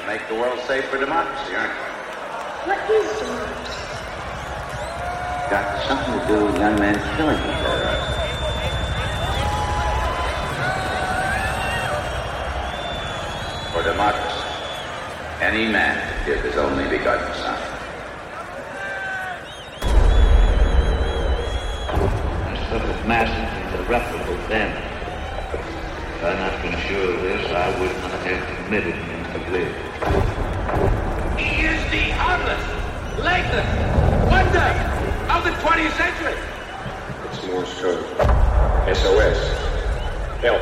Speaker 5: make the world safe for democracy, aren't you?
Speaker 6: What is democracy?
Speaker 5: Got something to do with young men killing each other. For democracy, any man give his only begotten son.
Speaker 7: I suffered massive and irreparable damage. If I had not been sure of this, I would not have committed him to live.
Speaker 8: He is the armless, legless wonder of the 20th century.
Speaker 9: It's Morse code. SOS. Help.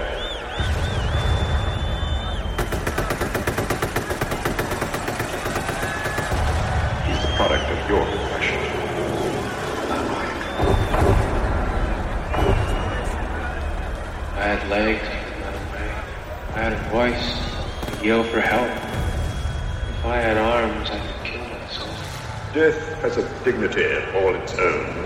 Speaker 9: He's the product of your profession, not mine.
Speaker 10: I had legs, I had a voice, I'd yell for help. If I had arms, I could kill myself.
Speaker 9: Death has a dignity all its own.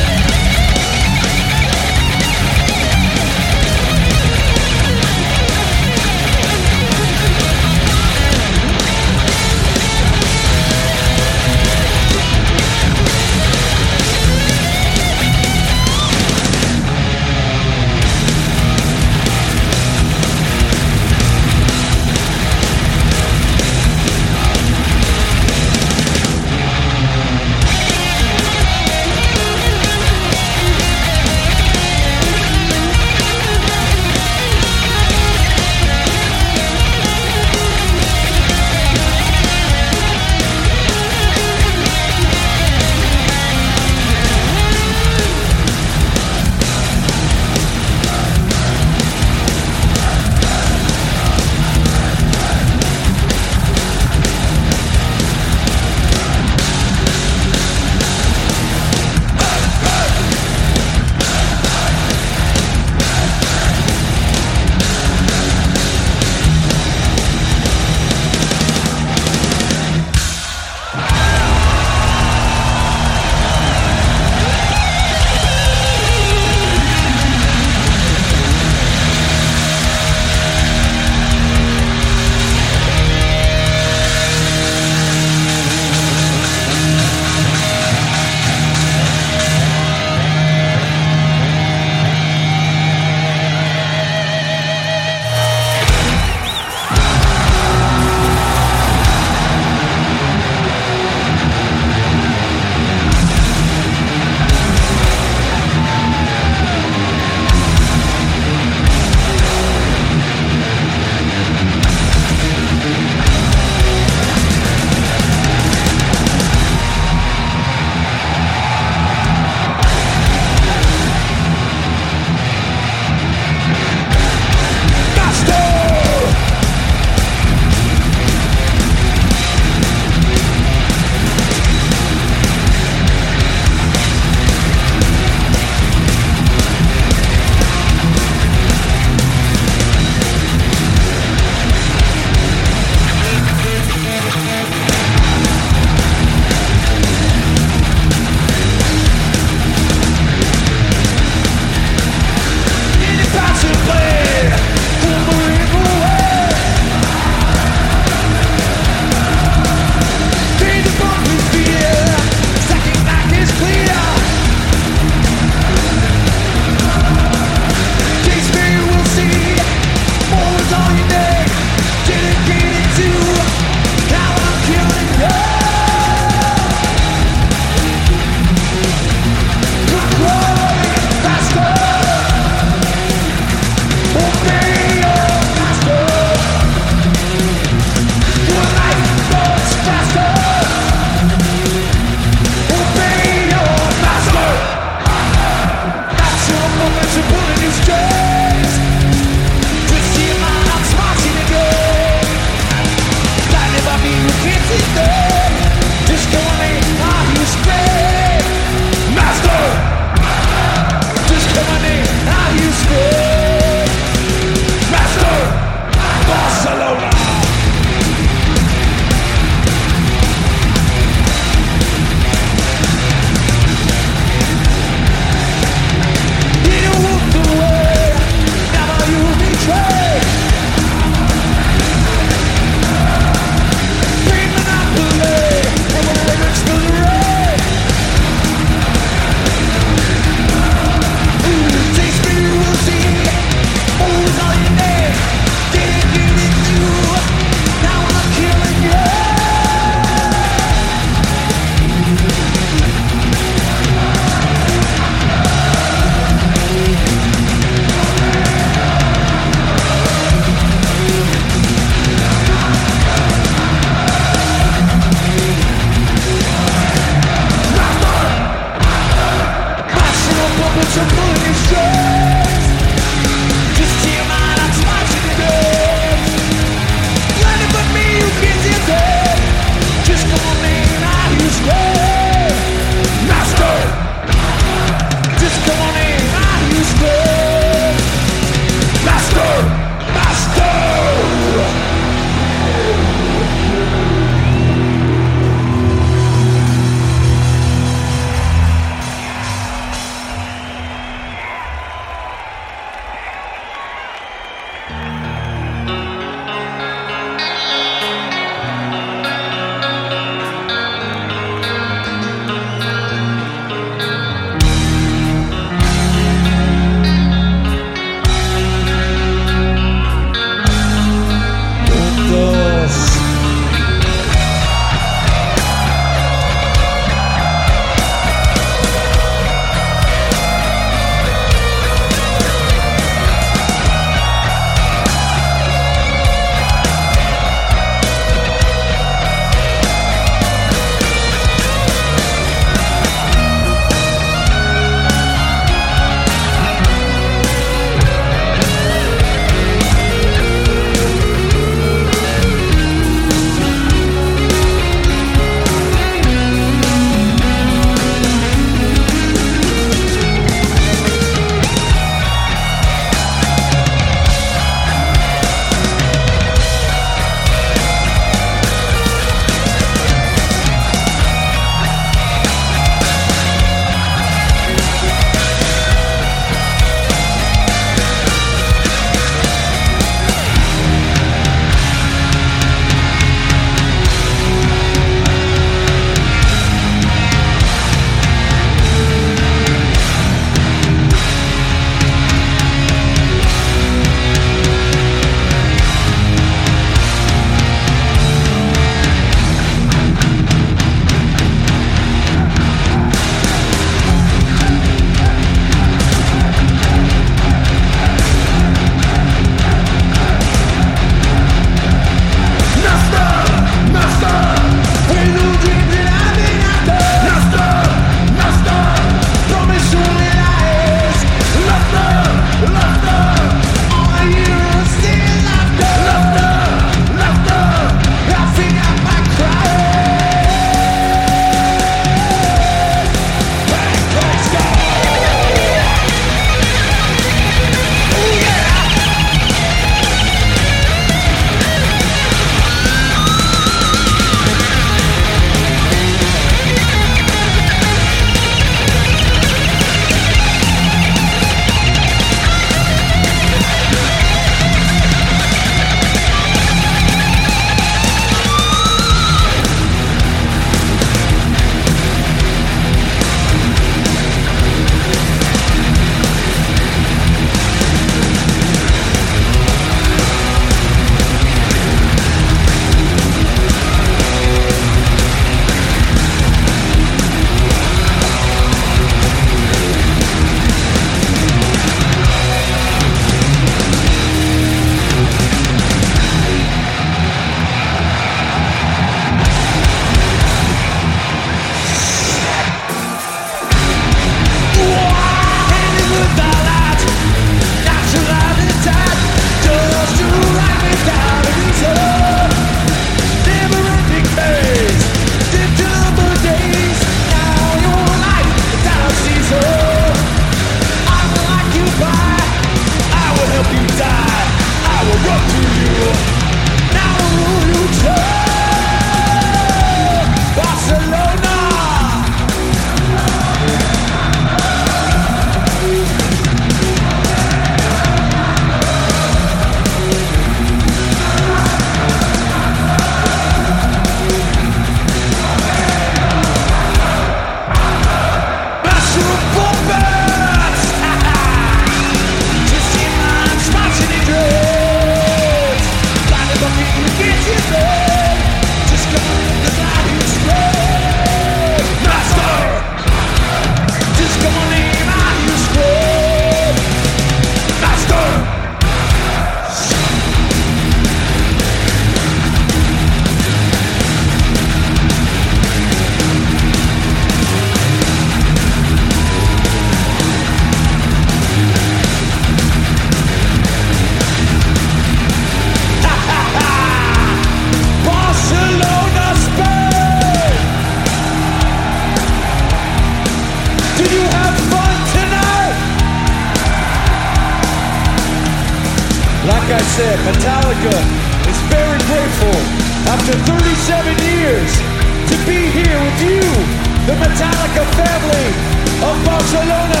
Speaker 3: that Metallica is very grateful after 37 years to be here with you, the Metallica family of Barcelona.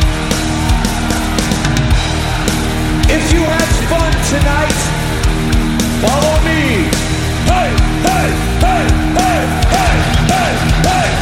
Speaker 3: If you had fun tonight, follow me. Hey, hey, hey, hey, hey, hey, hey.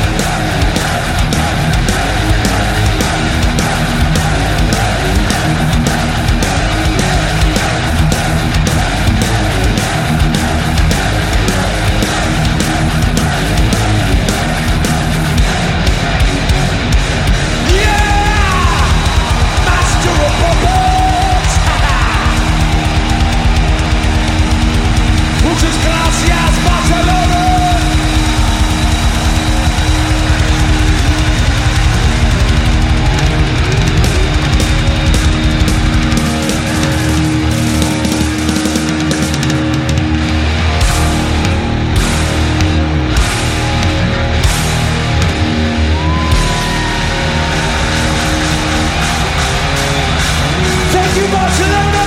Speaker 3: Gracias, Barcelona. Thank you, Barcelona.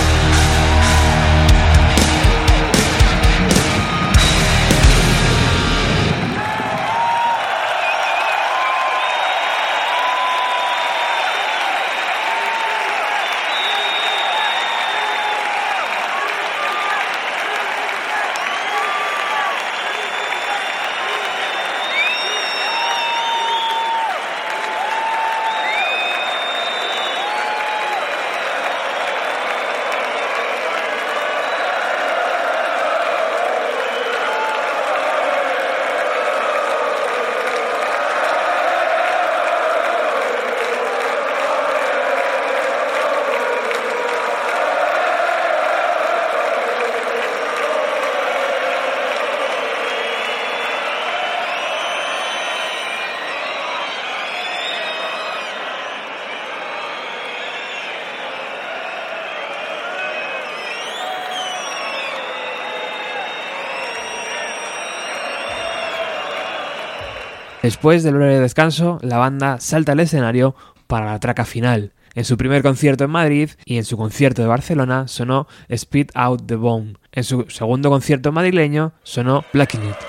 Speaker 1: Después del breve descanso, la banda salta al escenario para la traca final. En su primer concierto en Madrid y en su concierto de Barcelona sonó Spit Out the Bone. En su segundo concierto madrileño sonó Blacking It.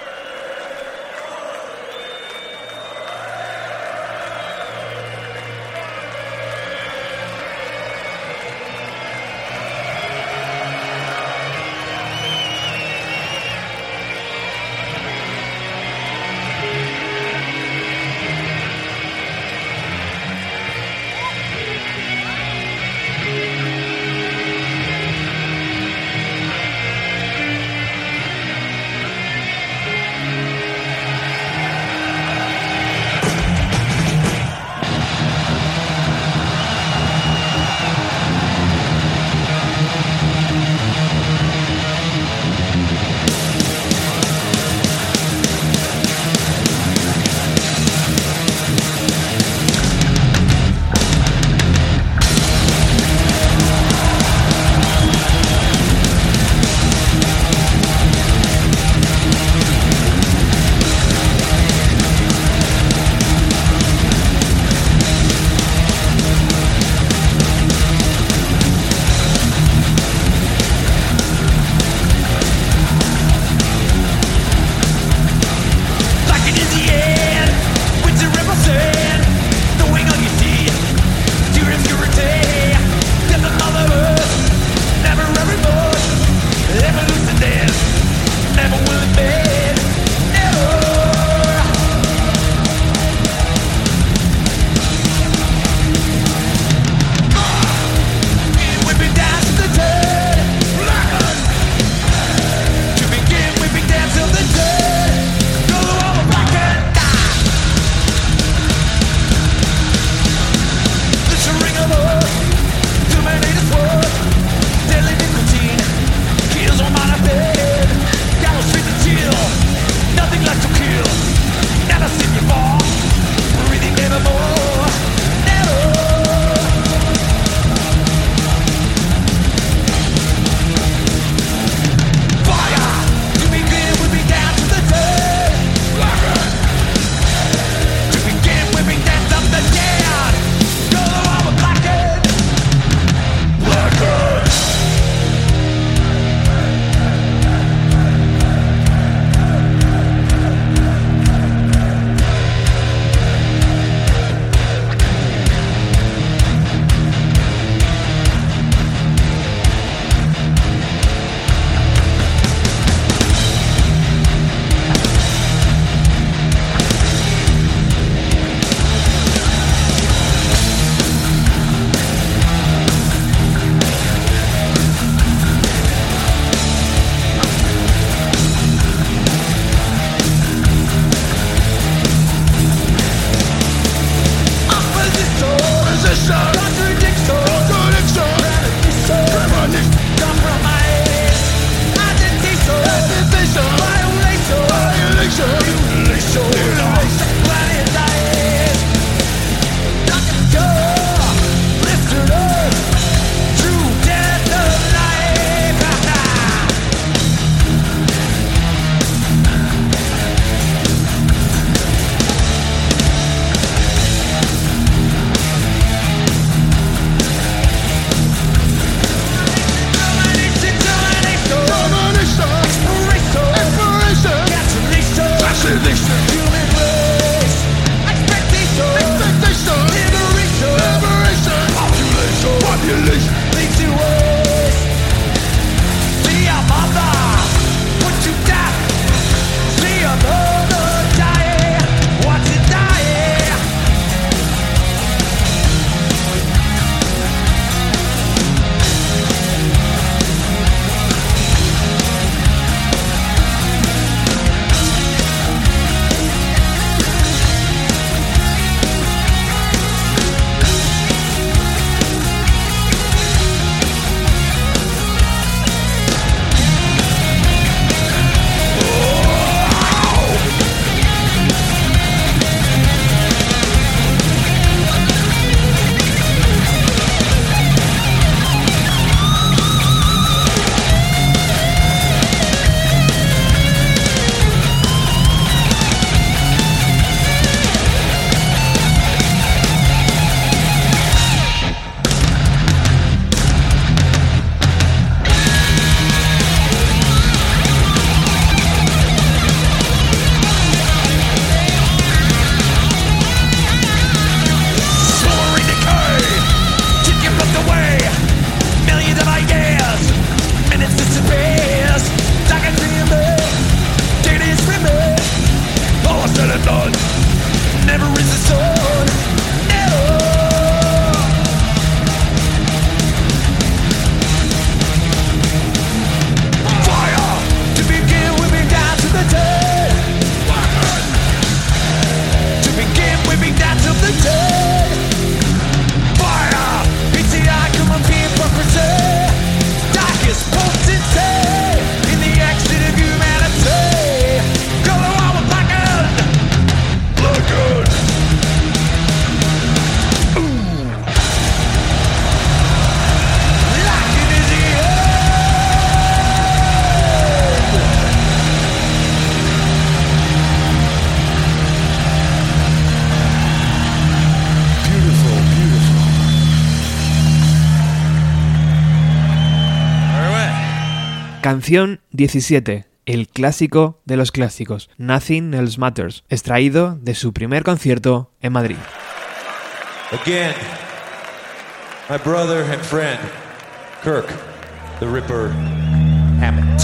Speaker 1: Canción 17, el clásico de los clásicos, Nothing Else Matters, extraído de su primer concierto en Madrid.
Speaker 2: Again, my brother and friend, Kirk, the Ripper Hammett.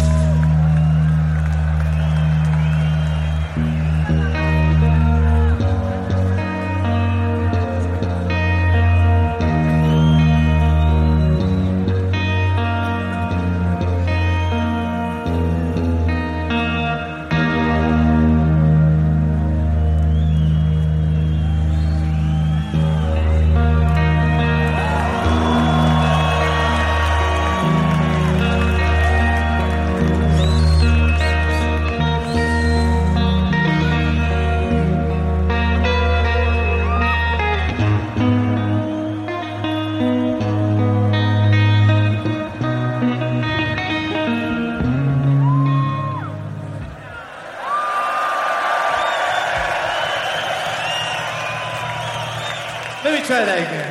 Speaker 11: Let me try that again.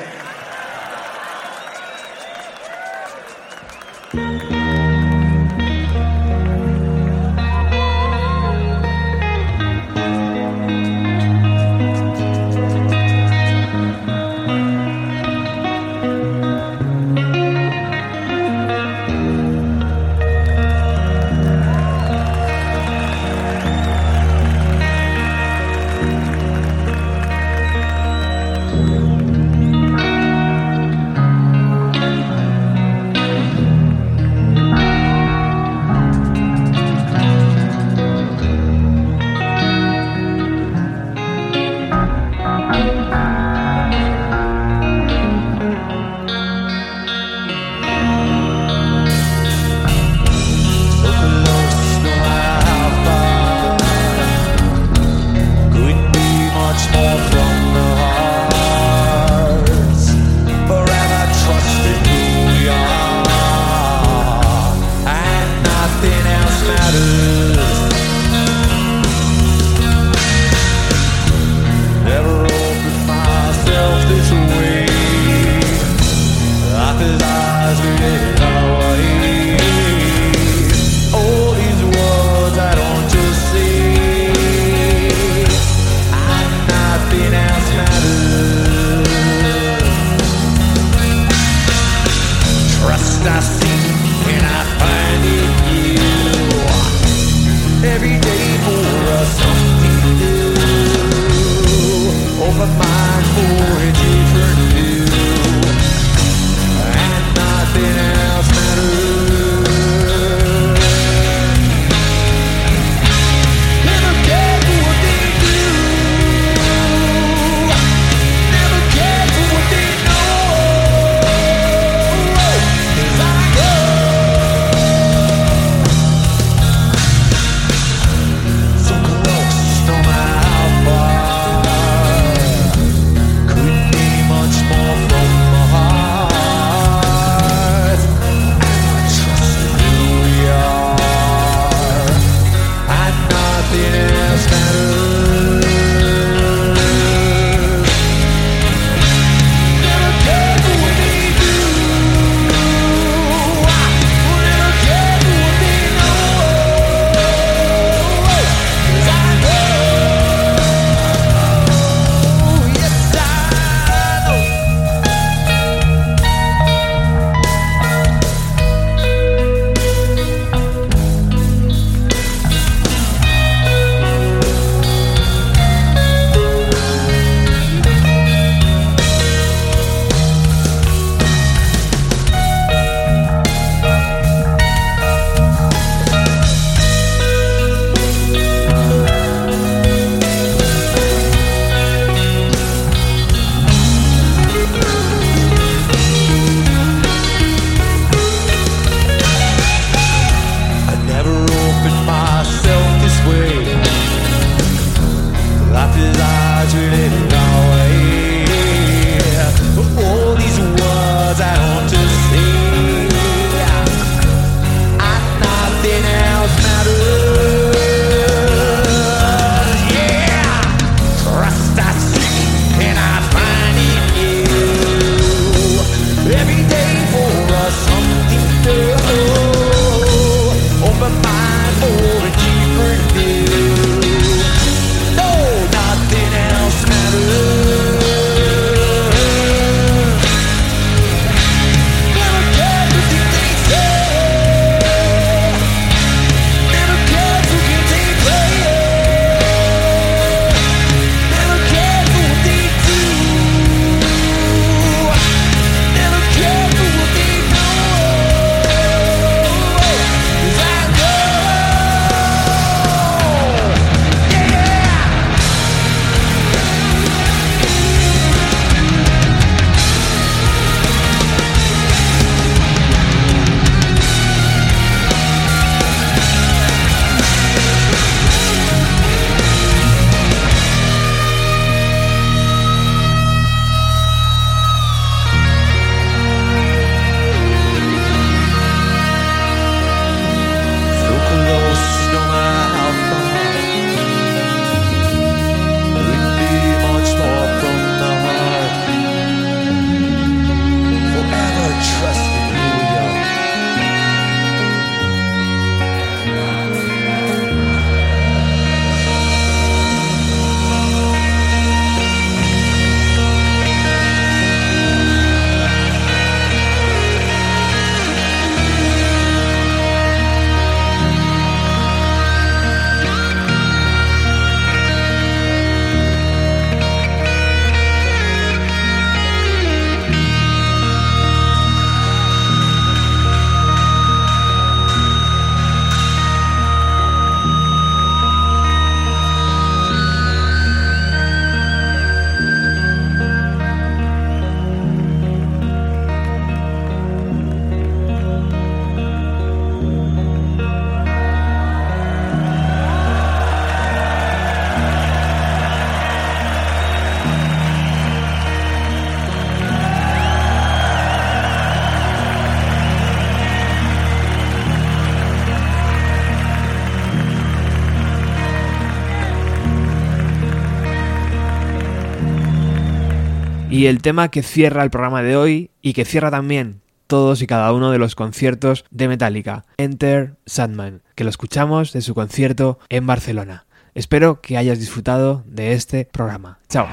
Speaker 1: Y el tema que cierra el programa de hoy y que cierra también todos y cada uno de los conciertos de Metallica, Enter Sandman, que lo escuchamos de su concierto en Barcelona. Espero que hayas disfrutado de este programa. Chao.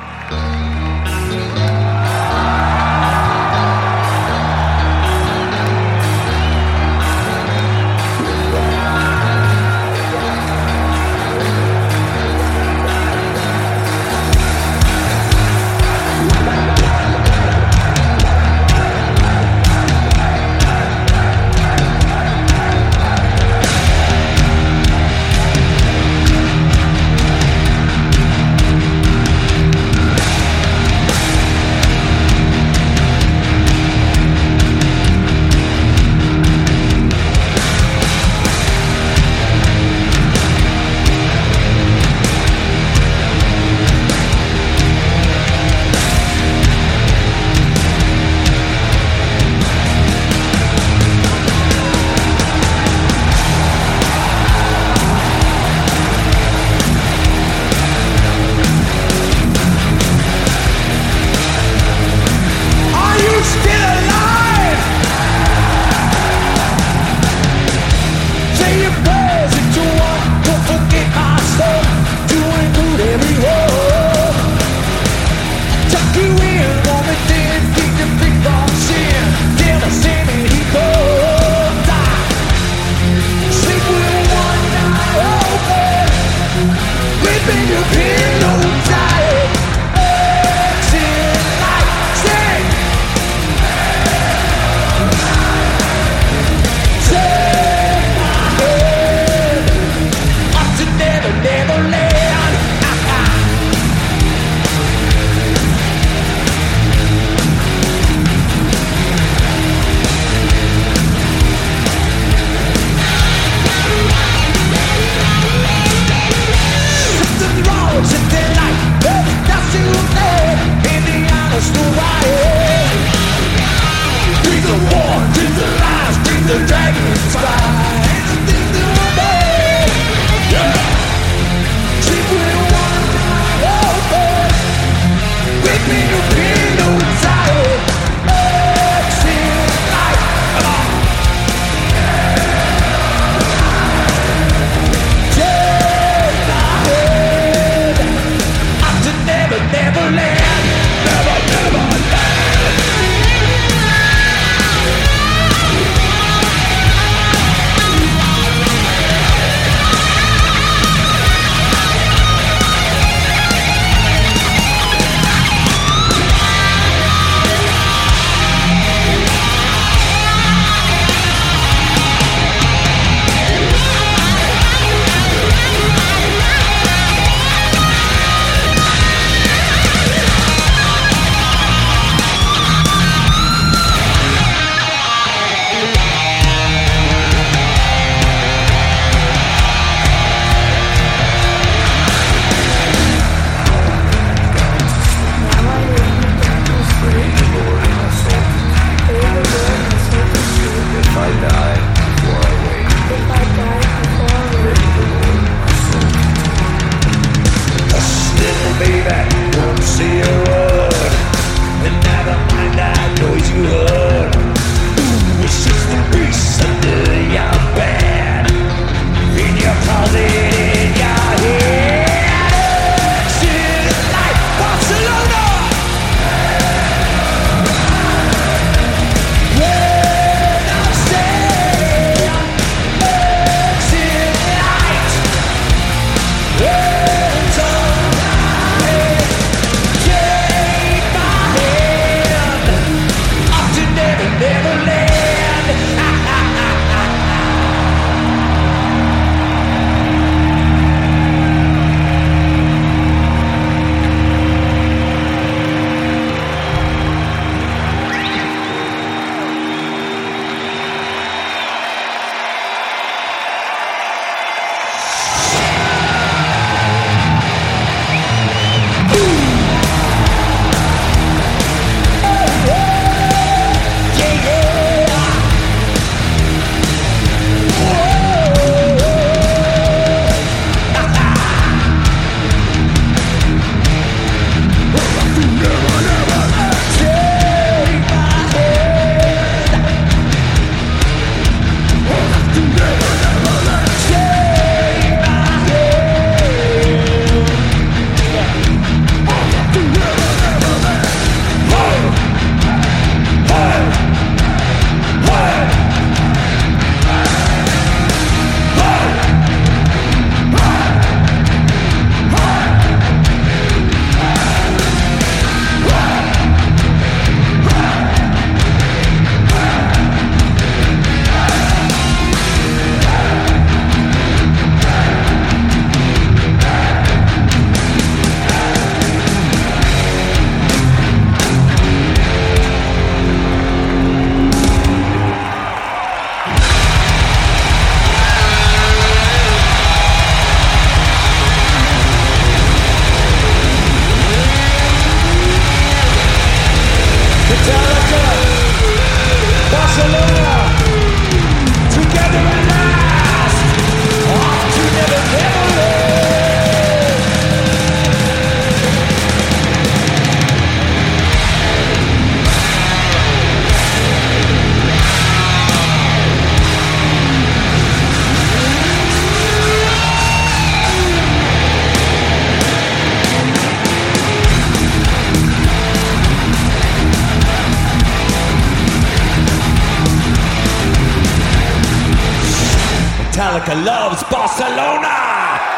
Speaker 3: Metallica loves Barcelona!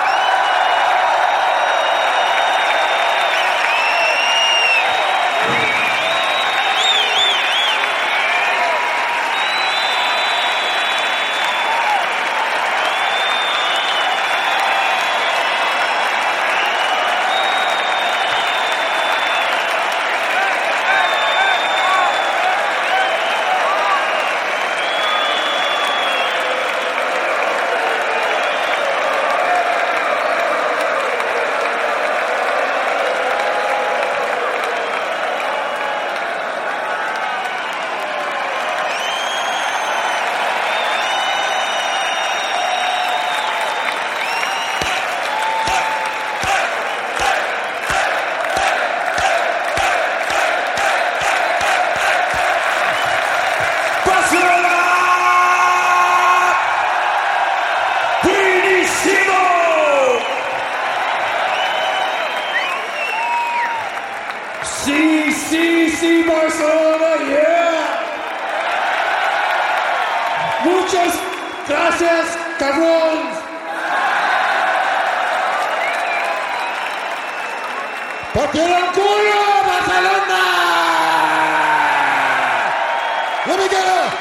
Speaker 3: Sí, Barcelona, yeah. Muchas gracias, cabrón. ¡Partieron culo, Barcelona! Let me get a...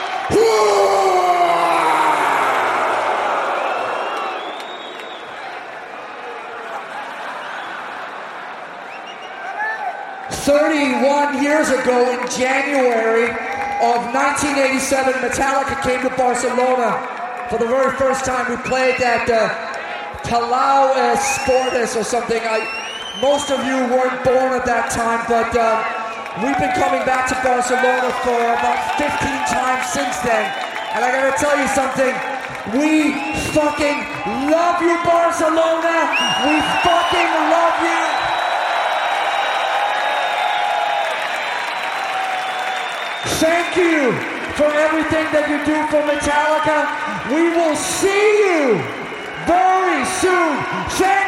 Speaker 12: 31 years ago in January of 1987, Metallica came to Barcelona for the very first time. We played at Palau Esportes or something. Most of you weren't born at that time, but we've been coming back to Barcelona for about 15 times since then. And I gotta tell you something, we fucking love you, Barcelona! We fucking love you! Thank you for everything that you do for Metallica. We will see you very soon. Thank